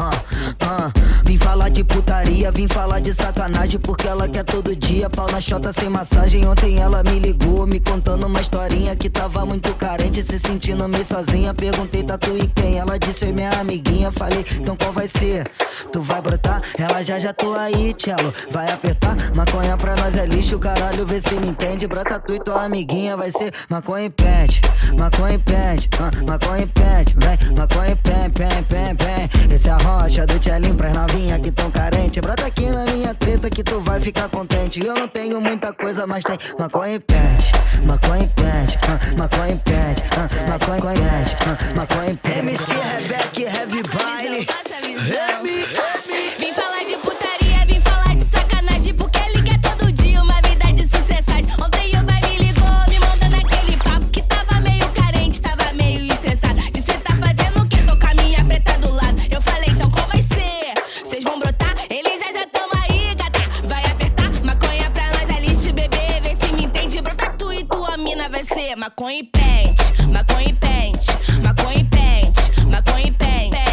Vim falar de putaria, vim falar de sacanagem, porque ela quer todo dia. Pau na chota sem massagem. Ontem ela me ligou, me contando uma historinha que tava muito carente, se sentindo meio sozinha. Perguntei, tá tu e quem? Ela disse, oi minha amiguinha. Falei, então qual vai ser? Tu vai brotar? Ela já tô aí, tchelo. Vai apertar? Maconha pra nós é lixo, caralho, vê se me entende. Brota tu e tua amiguinha, vai ser maconha e pente, maconha e pente, maconha e pente, vem, maconha e pem, pem, pem, pem. Esse é a rocha do tchelinho pras novinha que tão carente. Brota aqui na minha treta que tu vai ficar contente. Eu não tenho muita coisa, mas tem maconha e pente, maconha e pente, maconha e pente, maconha e pente, maconha e pente. MC Rebeca, Heavy Baile. Vim falar de putaria, vim falar de sacanagem, porque ele quer todo dia uma vida de sucessagem. Ontem o pai me ligou, me mandando aquele papo que tava meio carente, tava meio estressado. De cê tá fazendo o que? Tô com a minha preta do lado. Eu falei, então qual vai ser? Vocês vão brotar? Eles já tamo aí, gata. Vai apertar? Maconha pra nós é lixo, bebê. Vê se me entende. Brota tu e tua mina vai ser maconha e pente, maconha e pente, maconha e pente, maconha e pente.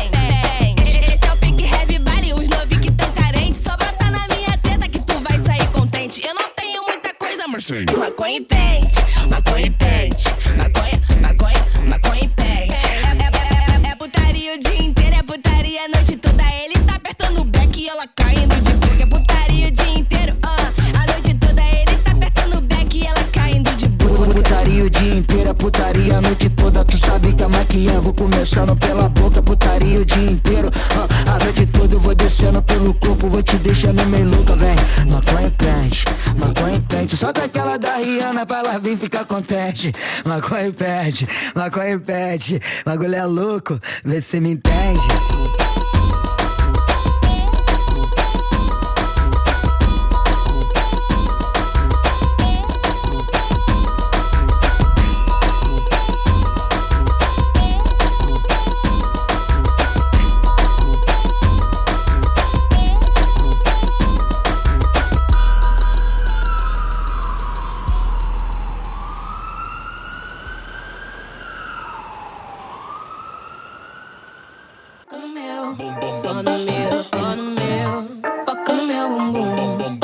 Esse é o pique Heavy Baile, os novinhos que tão carentes. Só brota na minha teta que tu vai sair contente. Eu não tenho muita coisa, mas sei. Maconha e pente, maconha e pente, maconha, maconha, maconha e pente. É putaria o dia inteiro, é putaria a noite toda. Ele tá apertando o back e ela caindo de boca. É putaria o dia inteiro, a noite toda. Ele tá apertando o back e ela caindo de boca. Putaria o dia inteiro, é putaria a noite toda. Tu sabe que a maquiagem vou começando pela boca. Putaria o dia inteiro, a noite toda eu vou descendo pelo corpo, vou te deixando meio louca, vem. Maconha e pente, maconha e pente. Solta aquela da Rihanna pra ela vir ficar contente. Maconha e pente, maconha e pente. Bagulho é louco, vê se me entende. Só no meu, foca no meu bumbum.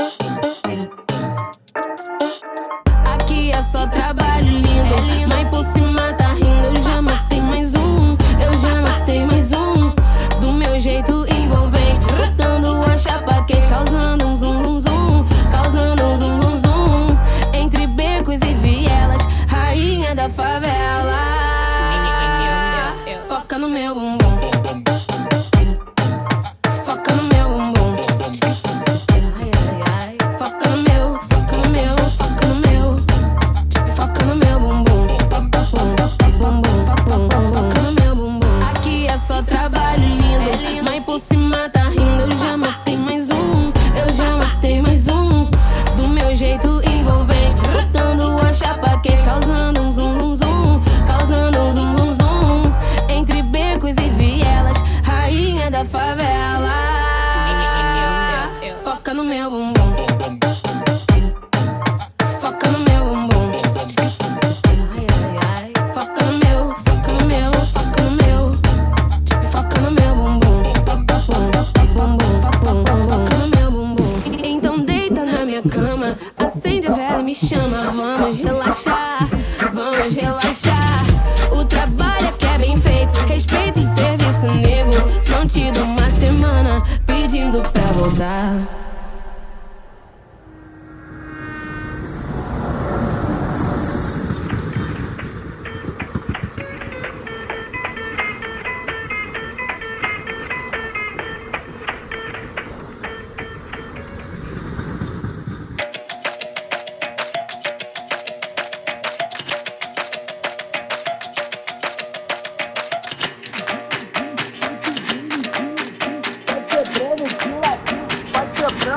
Aqui é só trabalho lindo, mas por cima tá rindo. Eu já matei mais um, eu já matei mais um. Do meu jeito envolvente, botando a chapa quente, causando um zum zum zum, causando um zum zum zum. Entre becos e vielas, rainha da favela. Foca no meu bumbum. Foca no meu bumbum. Foca no meu, foca no meu, foca no meu. Foca no meu bumbum. Foca no meu bumbum. Aqui é só trabalho lindo, mas por cima tá rindo. Eu já matei mais um, eu já matei mais um. Do meu jeito envolvente, botando a chapa quente, causando um zum zum zum, causando um zum zum zum. Entre becos e vielas, rainha da favela. Foca no meu bumbum. Foca no meu bumbum. Foca no meu, foca no meu, foca no meu. Foca no meu bumbum. Foca no meu bumbum. Então deita na minha cama, acende a vela e me chama. Vamos relaxar, vamos relaxar. O trabalho aqui é bem feito, respeito e serviço nego. Não te dou uma semana pedindo pra voltar. Vai quebrando,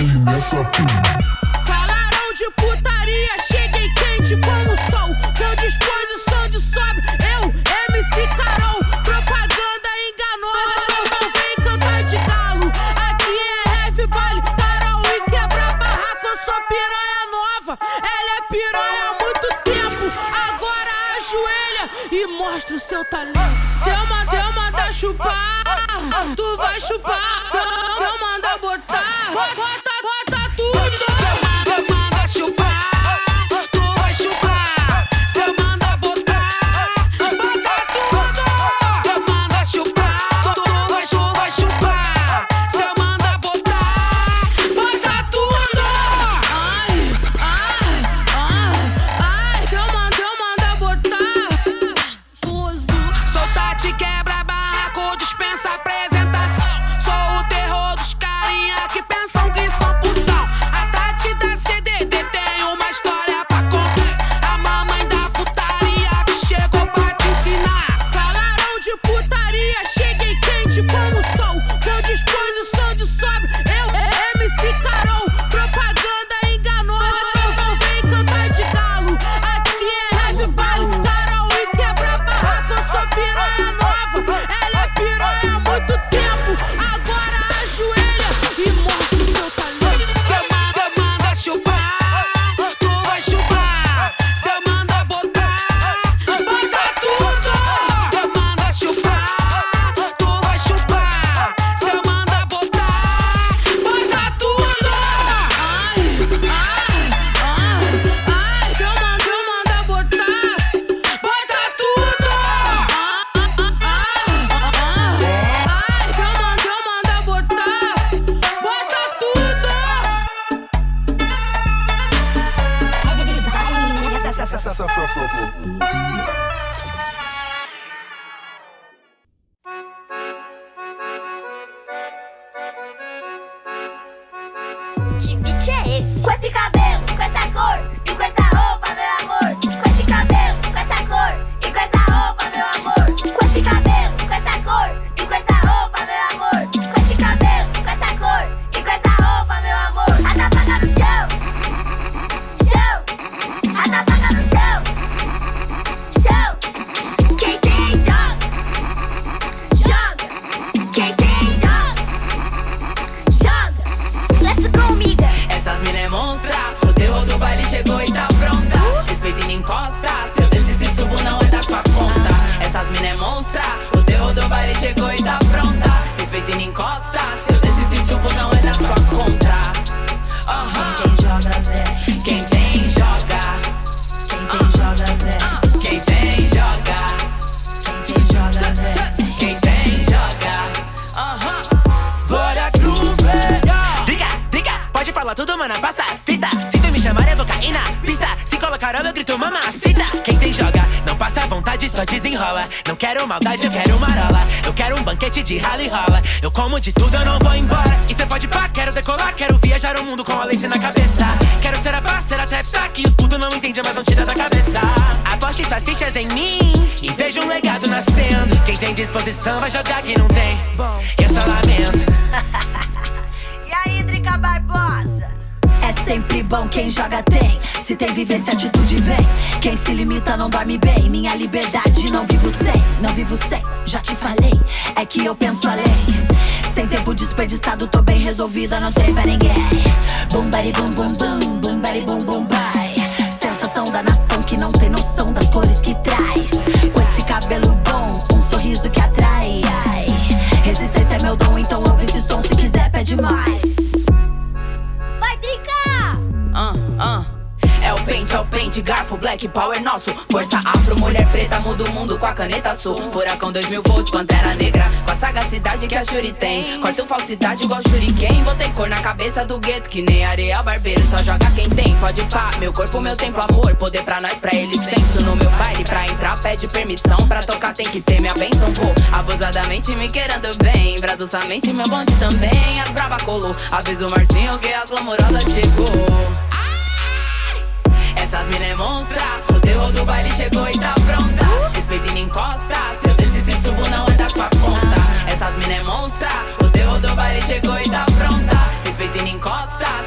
pele nessa. Falaram de putaria, cheguei quente como o sol. Com disposição de sobra, eu, MC Carol. Propaganda enganosa, não vem cantar de galo. Aqui é heavy baile, Carol e quebra barraca. Eu sou piranha nova, ela é piranha há muito tempo. Agora ajoelha e mostra o seu talento. Se eu mandar chupar, tu vai chupar. Se eu mandar botar, bota tudo. Se eu mandar chupar, tu vai chupar. Se eu mandar botar, bota tudo. Se eu mandar chupar, tu vai chupar. Se eu mandar botar, bota tudo. Ai, se eu mandar botar, sou Tati quebra barraco, dispensa apresentação. Sou o terror dos carinha que pensam que são putão. A Tati da CDD tem uma história pra contar. A mamãe da putaria que chegou pra te ensinar. Falaram de putaria, cheguei quente como o sol. Com disposição de sobra, eu, MC Carol. Propaganda enganosa, não vem cantar de galo. Aqui é heavy baile, Carol e quebra barraca. Eu sou piranha nova, ela é piranha há muito tempo. Agora ajoelha e mostra o seu talento. Se eu mandar chupar, tu vai chupar. Se eu mandar botar, bota tudo. Se eu mandar chupar, tu vai chupar. Se eu mandar botar, bota tudo. Se eu mandar botar, bota tudo. Se eu mandar botar, bota tudo. Que beat é esse? Com esse cabelo, com essa cor e com essa roupa, meu amor. Com esse cabelo, com essa cor e com essa roupa, meu amor. Com esse cabelo, com essa cor e com essa roupa, meu amor. Com esse cabelo, com essa cor e com essa roupa, meu amor. A tapaca no chão, chão. A tapaca no chão, chão. Quem tem joga, joga. Quem tem joga, joga. Let's go, amiga. Essas mina é monstra, o terror do baile chegou e tá pronta. Respeita e não encosta, se eu descer e subo não é da sua conta. Essas mina é monstra, o terror do baile chegou e tá pronta. Respeita e não encosta, se eu descer e subo não é da sua conta. Quem joga, vem. Quem tem, joga. Quem tem, joga, vem. Quem tem, joga. Quem tem, joga, vem. Quem tem, joga. Glória Groove. Diga, pode falar tudo, mano, passa a fita. Se tu me chamar, eu vou cair na pista. Se colocar eu grito mamacita. Quem tem joga, não passa vontade, só desenrola. Não quero maldade, eu quero marola. Eu quero um banquete de rala e rola. Eu como de tudo, eu não vou embora. E cê pode pá, quero decolar. Quero viajar o mundo com a lace na cabeça. Quero ser a parceira, trap que os putos não entendem, mas não tira da cabeça. Aposte suas fichas em mim e veja um legado nascendo. Quem tem disposição vai jogar, quem não tem, eu só lamento. E aí, Drica Barbosa? É sempre bom quem joga tem. Se tem vivência, atitude vem. Quem se limita não dorme bem. Minha liberdade não vivo sem, já te falei. É que eu penso além. Sem tempo desperdiçado, tô bem resolvida, não tem pra ninguém. Bum bari bum bum bum, bum bari bum bum bai. Sensação da nação que não tem noção das cores que traz. Com esse cabelo bom, um sorriso que atrai. Ai. Resistência é meu dom, então ouve esse som, se quiser pede mais. Vai, Drica! É o pente, garfo, black power nosso. Força afro, mulher preta, muda o mundo com a caneta sul. Furacão 2000 volts, pantera negra, com a sagacidade que a Shuri tem. Corto falsidade igual shuriken. Botei cor na cabeça do gueto, que nem Ariel Barbeiro. Só joga quem tem, pode pá. Meu corpo, meu templo, amor. Poder pra nós, pra eles, senso. No meu baile, pra entrar, pede permissão. Pra tocar tem que ter minha benção. Vou abusadamente me querendo bem. Brasosamente, meu bonde também. As brava colou, avisa o Marcinho que as glamurosas chegou. Essas mina é monstra, o terror do baile chegou e tá pronta. Respeita e não encosta, se eu descer e subo não é da sua conta. Essas mina é monstra, o terror do baile chegou e tá pronta. Respeita e não encosta,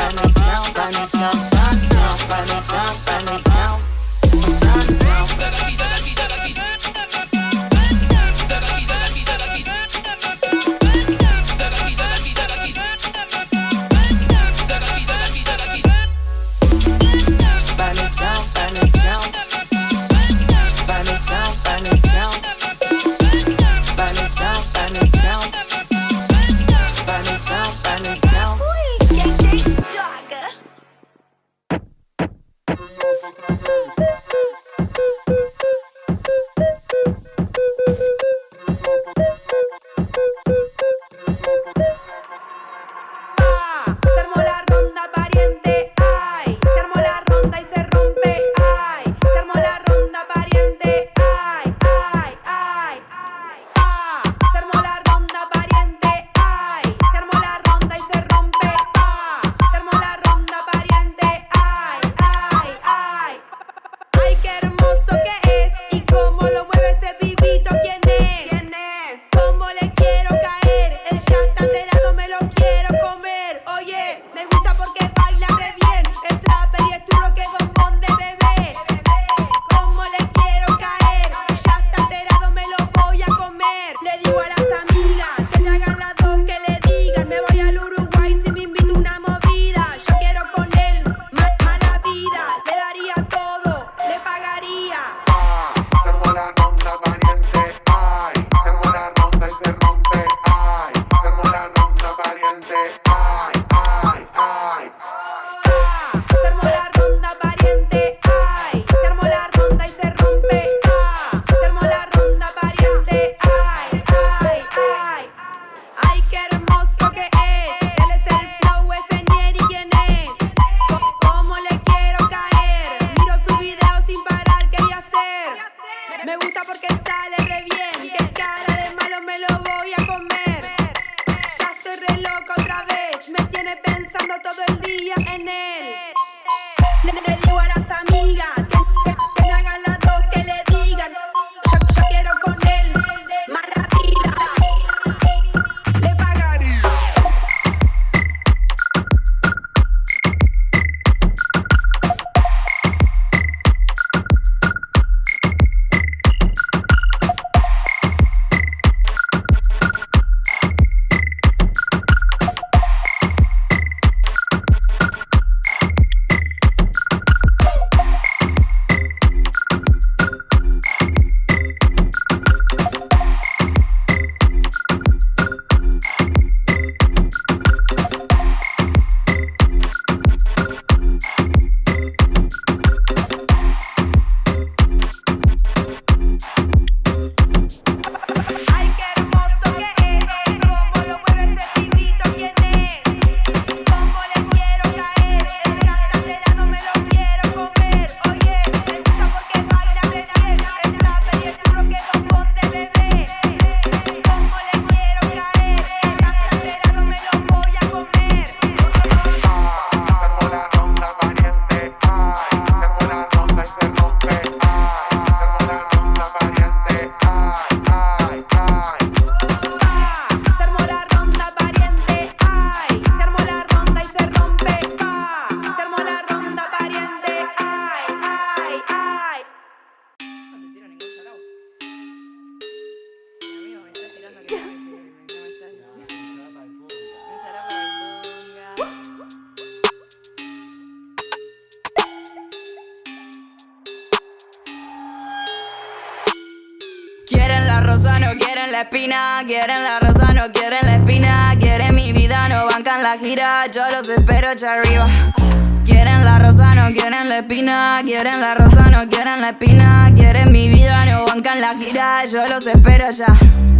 Quieren la rosa, no quieren la espina. Quieren la rosa, no quieren la espina. Quieren mi vida, no bancan la gira. Yo los espero allá arriba. Quieren la rosa, no quieren la espina. Quieren la rosa, no quieren la espina. Quieren mi vida, no bancan la gira. Yo los espero allá.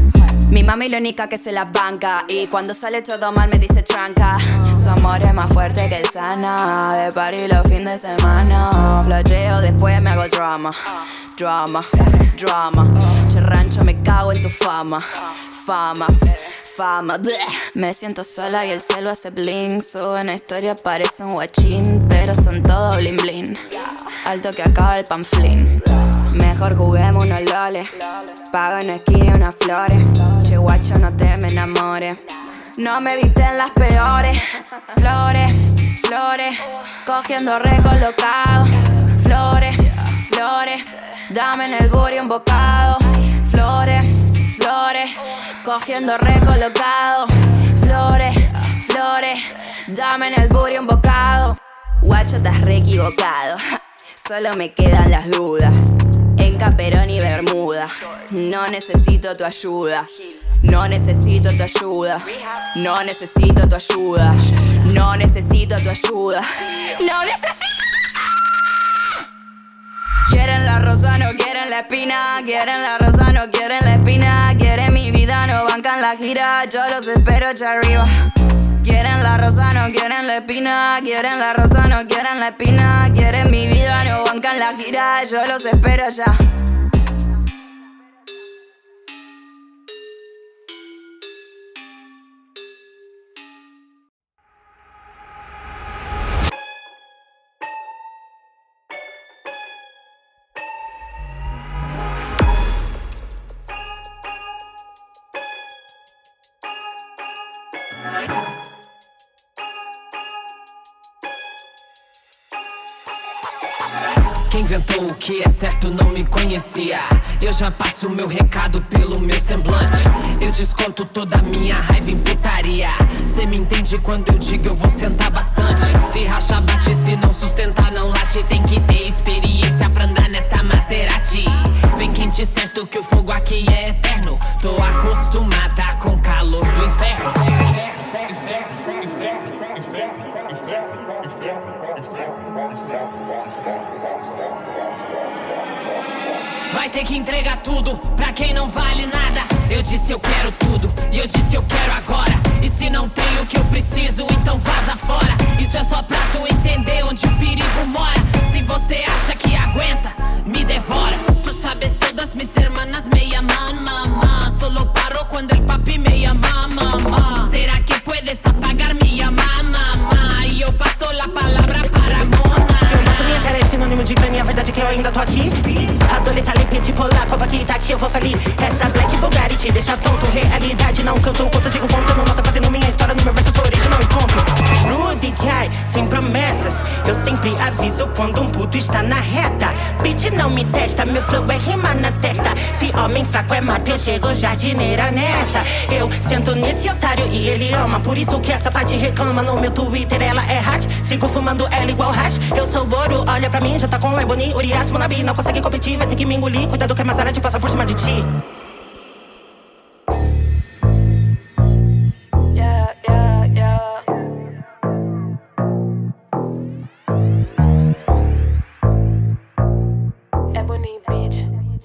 Mi mami la única que se la banca. Y cuando sale todo mal me dice tranca. Su amor es más fuerte que el sana. De party los fines de semana. Flasheo, después me hago drama. Drama, drama. Che rancho, me cago en tu fama. Fama, fama, bleh. Me siento sola y el cielo hace bling. Sube una historia, parece un guachín. Pero son todo blin blin. Alto que acaba el panflín. Mejor juguemos unos loles. Pago en esquina unas flores. Che guacho, no te me enamores. No me viste en las peores flores. flores, cogiendo recolocado. Flores, flores, dame en el booty un bocado. Flores, flores, cogiendo recolocado. Flores, flores, dame en el booty un bocado. Guacho, estás re equivocado. Solo me quedan las dudas. En caperón y bermuda. No necesito tu ayuda. No necesito tu ayuda. No necesito tu ayuda. No necesito tu ayuda. No necesito. Quieren la rosa, no quieren la espina. Quieren la rosa, no quieren la espina. Quieren mi vida, no bancan la gira. Yo los espero allá arriba. Quieren la rosa, no quieren la espina. Quieren la rosa, no quieren la espina. Quieren mi vida, no bancan la gira. Yo los espero allá. Quem inventou o que é certo não me conhecia. Eu já passo meu recado pelo meu semblante. Eu desconto toda a minha raiva em putaria. Cê me entende quando eu digo eu vou sentar bastante. Se racha bate, se não sustenta não late. Tem que ter experiência pra andar nessa Maserati. Vem quem te certo que o fogo aqui é eterno. Tô acostumada com o calor do inferno. Vai ter que entregar tudo pra quem não vale nada. Eu disse eu quero tudo e eu disse eu quero agora. E se não tem o que eu preciso, então vaza fora. Isso é só pra tu entender onde o perigo mora. Se você acha que aguenta, me devora. Tu sabes todas mis hermanas me llaman mamá. Solo paro cuando el papi me llama mamá. ¿Será que puedes apagar mi llamada, mamá? E eu passo la palavra para Mona. Se eu mato minha cara é sinônimo de crânio, a verdade é que eu ainda tô aqui. Adolita, limpete, polar, copa aqui, tá aqui, eu vou falir. Essa Black Bulgari te deixa tonto. Realidade não canto, conto, digo ponto. Não nota fazendo minha história no meu verso original e ponto. Rude guy, sem promessas. Eu sempre aviso quando um puto está na reta. Bitch não me testa, meu flow é rima na testa. Se homem fraco é mata, eu chego jardineira nessa. Eu sento nesse otário e ele ama. Por isso que essa parte reclama no meu Twitter, ela é hot. Sigo fumando ela igual hash. Eu sou ouro, olha pra mim, já tá com o Ebony, Urias, Monabi. Não consegue competir, vai ter que me engolir. Cuidado que a Maserati passa por cima de ti. Yeah, yeah, yeah. Ebony Beach.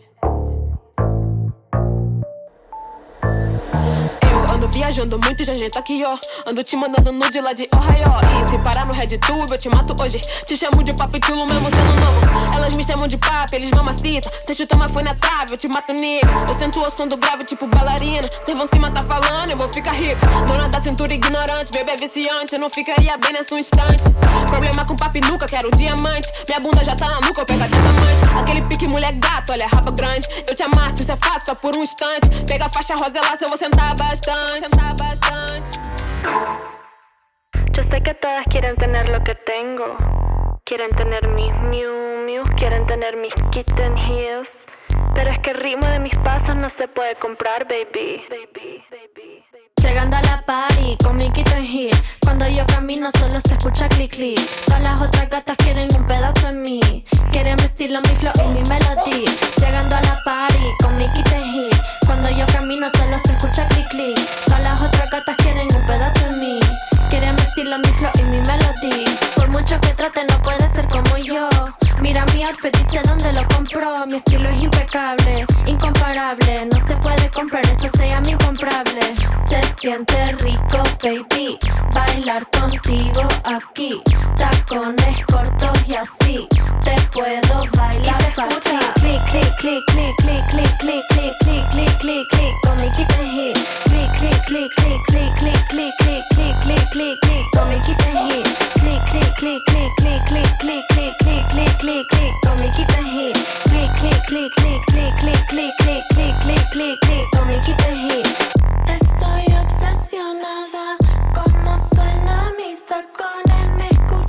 Ando viajando muito, já tá aqui, ó. Ando te mandando nude lá de Ohio. E se parar no RedTube, eu te mato hoje. Te chamo de papitulo mesmo sendo novo. Elas me chamam de papo, eles mamacita. Cê chuta, mas foi na trave, eu te mato nega. Eu sento o som do grave, tipo bailarina. Cês vão cima, tá falando, eu vou ficar rica. Dona da cintura ignorante, bebê viciante. Eu não ficaria bem nessa instante. Problema com papi nunca, quero diamante. Minha bunda já tá na nuca, eu pego a diamante. Aquele pique mulher gato, olha raba grande. Eu te amasso, isso é fato, só por um instante. Pega a faixa rosa lá, se eu vou sentar bastante. Sentar bastante. Yo sé que todas quieren tener lo que tengo. Quieren tener mis Miu Miu, quieren tener mis Kitten Heels. Pero es que el ritmo de mis pasos no se puede comprar, baby. Llegando a la party con mi Kitten Heel. Cuando yo camino solo se escucha click click. Todas las otras gatas quieren un pedazo en mí. Quieren mi estilo, mi flow y mi melodía. Llegando a la party con mi Kitten Heel. Cuando yo camino solo se escucha click click. Todas las otras gatas quieren un pedazo en mí. Quieren mi estilo, mi flow y mi melodía. Por mucho que trate no puede ser como yo. Mira mi outfit, dice dónde lo compró. Mi estilo es impecable, incomparable. No se puede comprar, eso se llama incomparable. Se siente rico, baby, bailar contigo aquí. Tacones cortos y así te puedo bailar fácil. Click, click, click, click, click, click, click, click, click, click, click, click, con mi Kitten Heel. Click, click, click, click, click, click, click, click, click, click, click, click, con mi Kitten Heel. Click, click, click, click, click, click, click, click, click, click, click, click, con mi Kitten Heel. Click, click, click, click, click, click, click, click, click, click, click, click, con mi Kitten Heel. Estoy obsesionada, como suena mis tacones, me escucho.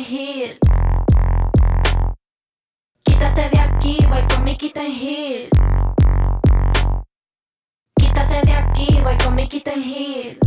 Hill. Quítate de aquí, voy con mi Kitten Hill. Quítate de aquí, voy con mi Kitten Hill.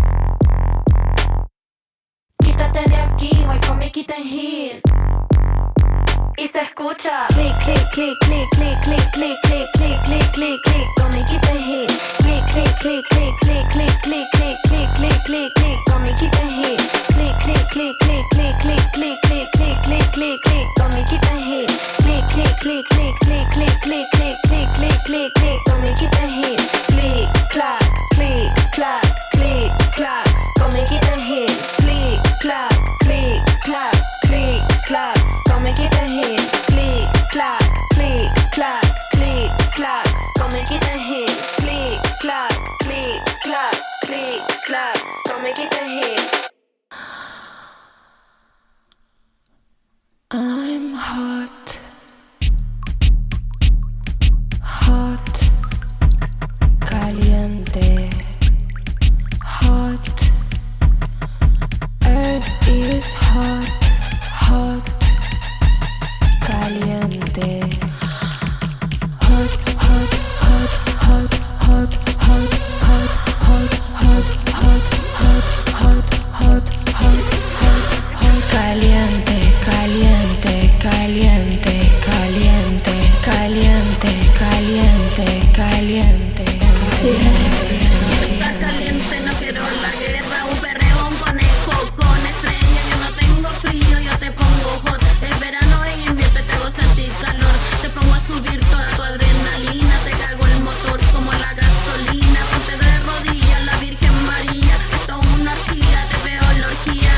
Quítate de aquí, voy con mi Kitten Hill. Y se escucha clic, clic, clic, clic, clic, clic, clic, clic, clic, clic, clic, clic, con mi Kitten Hill. Clic, clic, clic, clic, clic, clic, clic, clic, clic, clic, clic, clic, con mi Kitten Hill. Clic, clic, clic, clic, clic, clic, clic, clic, clic, clic, clic, clic, con mi Kitten Hill. Clic, clic, clic, clic, clic, clic, clic, clic, clic, clic, clic, clic, con mi Kitten Hill. Clic, clac, clic, clac, clic, clac, con mi Kitten Hill. Clic, clac, clic, clac, clic, clac, con mi Kitten Hill. Clic, clac, clic, clac, clic, clac, con mi Kitten Hill. Clic, clac, clic, clac, clic, clac, con mi Kitten Hill. I'm hot, hot, caliente, hot, earth is hot, hot, caliente, hot, hot, hot, hot, hot, hot, hot, hot, hot, hot, hot, hot, hot, hot, caliente, caliente, caliente, caliente, caliente, caliente, caliente, Está caliente, no quiero la guerra, un perreo, un conejo con estrella. Yo no tengo frío, yo te pongo hot. Es verano e invierno, te hago sentir calor. Te pongo a subir toda tu adrenalina, te cargo el motor como la gasolina. Ponte de rodillas, la Virgen María. Esto es una orgía, te veo en la orgía.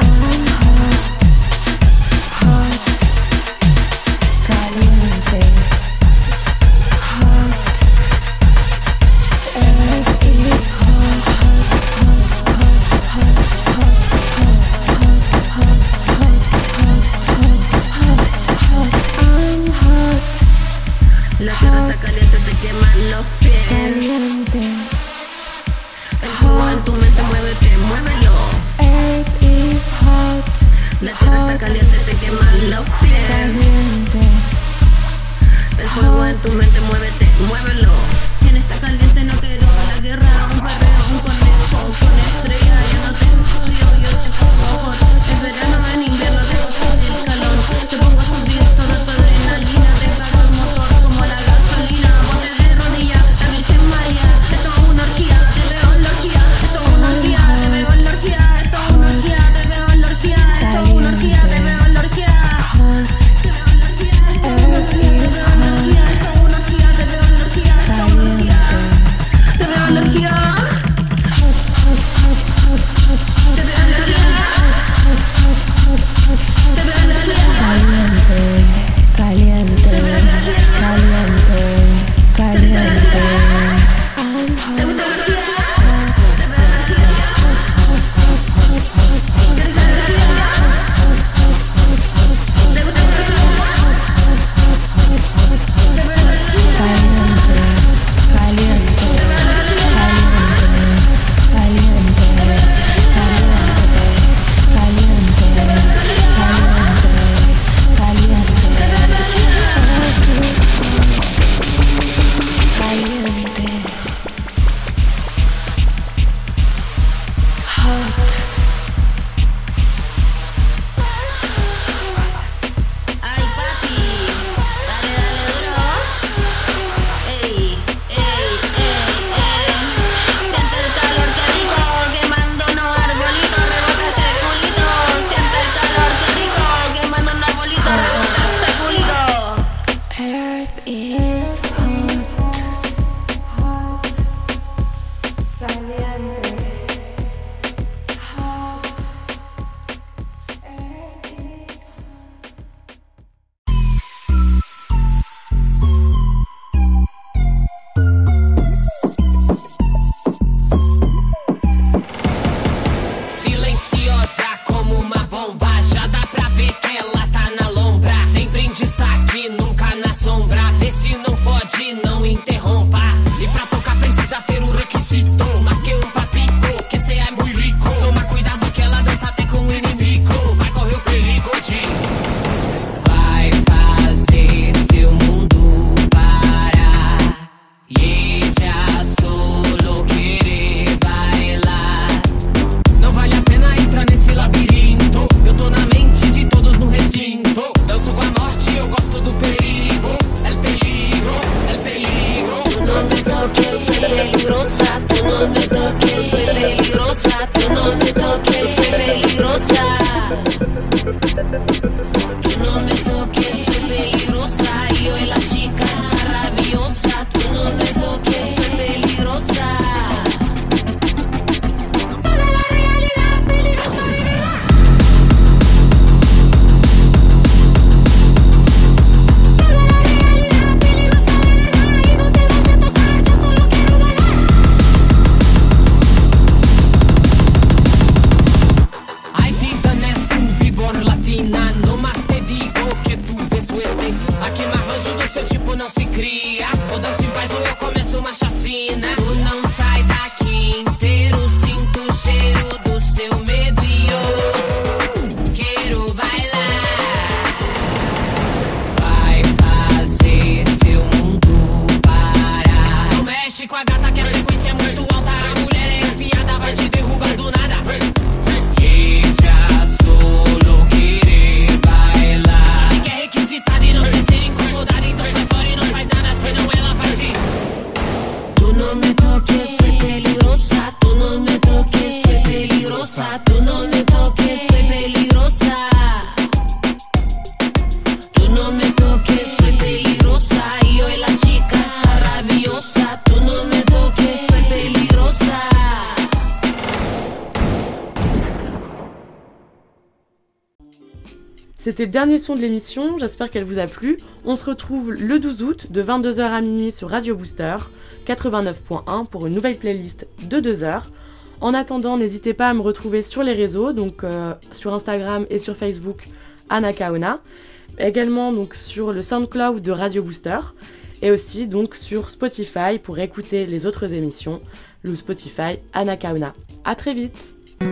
caliente, hot, earth is hot, hot, hot, hot, hot, hot, hot, hot, hot, hot, hot, hot, I'm hot. La tierra está caliente, te queman los pies. Caliente. El fuego en tu mente, muévete, muévelo. Earth is hot. La tierra está caliente, te queman los pies. Caliente. El fuego en tu mente, muévete, muévelo. Quien está caliente no quiero la guerra, un perreo, un conejo con estrella. Yo no tengo frío, yo te pongo hot. Es verano, en invierno te hago sentir calor. Te pongo a subir toda tu adrenalina, te cargo el motor como la gasolina. Ponte de rodillas, la Virgen María. Esto es una orgía, te veo en la orgía. Esto es una orgía, te veo en la orgía. Esto es una orgía, te veo en la orgía. Esto es una orgía, te veo en la orgía. Te veo en la orgía, esto es una orgía, te veo en la orgía. Esto es una orgía, te veo en la orgía. Tú no me toques, soy peligrosa. Y hoy la chica está rabiosa. Tú no me toques, soy peligrosa. Seu tipo não se cria. Ou dança em paz ou eu começo uma chacina. Tu não sai daqui inteiro. Sinto o cheiro do seu medo e eu quero bailar. Vai fazer seu mundo parar. Não mexe com a gata que a frequência é muito alta. A mulher é enfiada, vai te derrubar do nada. Ella solo quiere bailar. Sabe que é requisitada e não quer ser incomodada. Então sai fora e não faz nada, senão ela vai te. Tú no me toques, soy peligrosa. Tú no me toques, soy peligrosa. Tú no me toques, soy peligrosa. Tú no me toques, soy peligrosa. Y hoy la chica está rabiosa. Tú no me toques, soy peligrosa. C'était le dernier son de l'émission, j'espère qu'elle vous a plu. On se retrouve le 12 août de 22h à minuit sur Radio Booster 89.1 pour une nouvelle playlist de 2 heures. En attendant, n'hésitez pas à me retrouver sur les réseaux, donc sur Instagram et sur Facebook, Anakaona. Également donc sur le SoundCloud de Radio Booster et aussi donc sur Spotify pour écouter les autres émissions, le Spotify Anakaona. À très vite.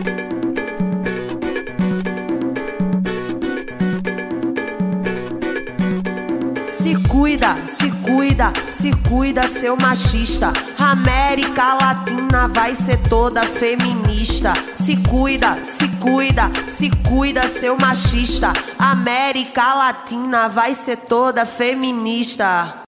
Se cuida, se cuida, se cuida, seu machista. América Latina vai ser toda feminista. Se cuida, se cuida, se cuida, seu machista. América Latina vai ser toda feminista.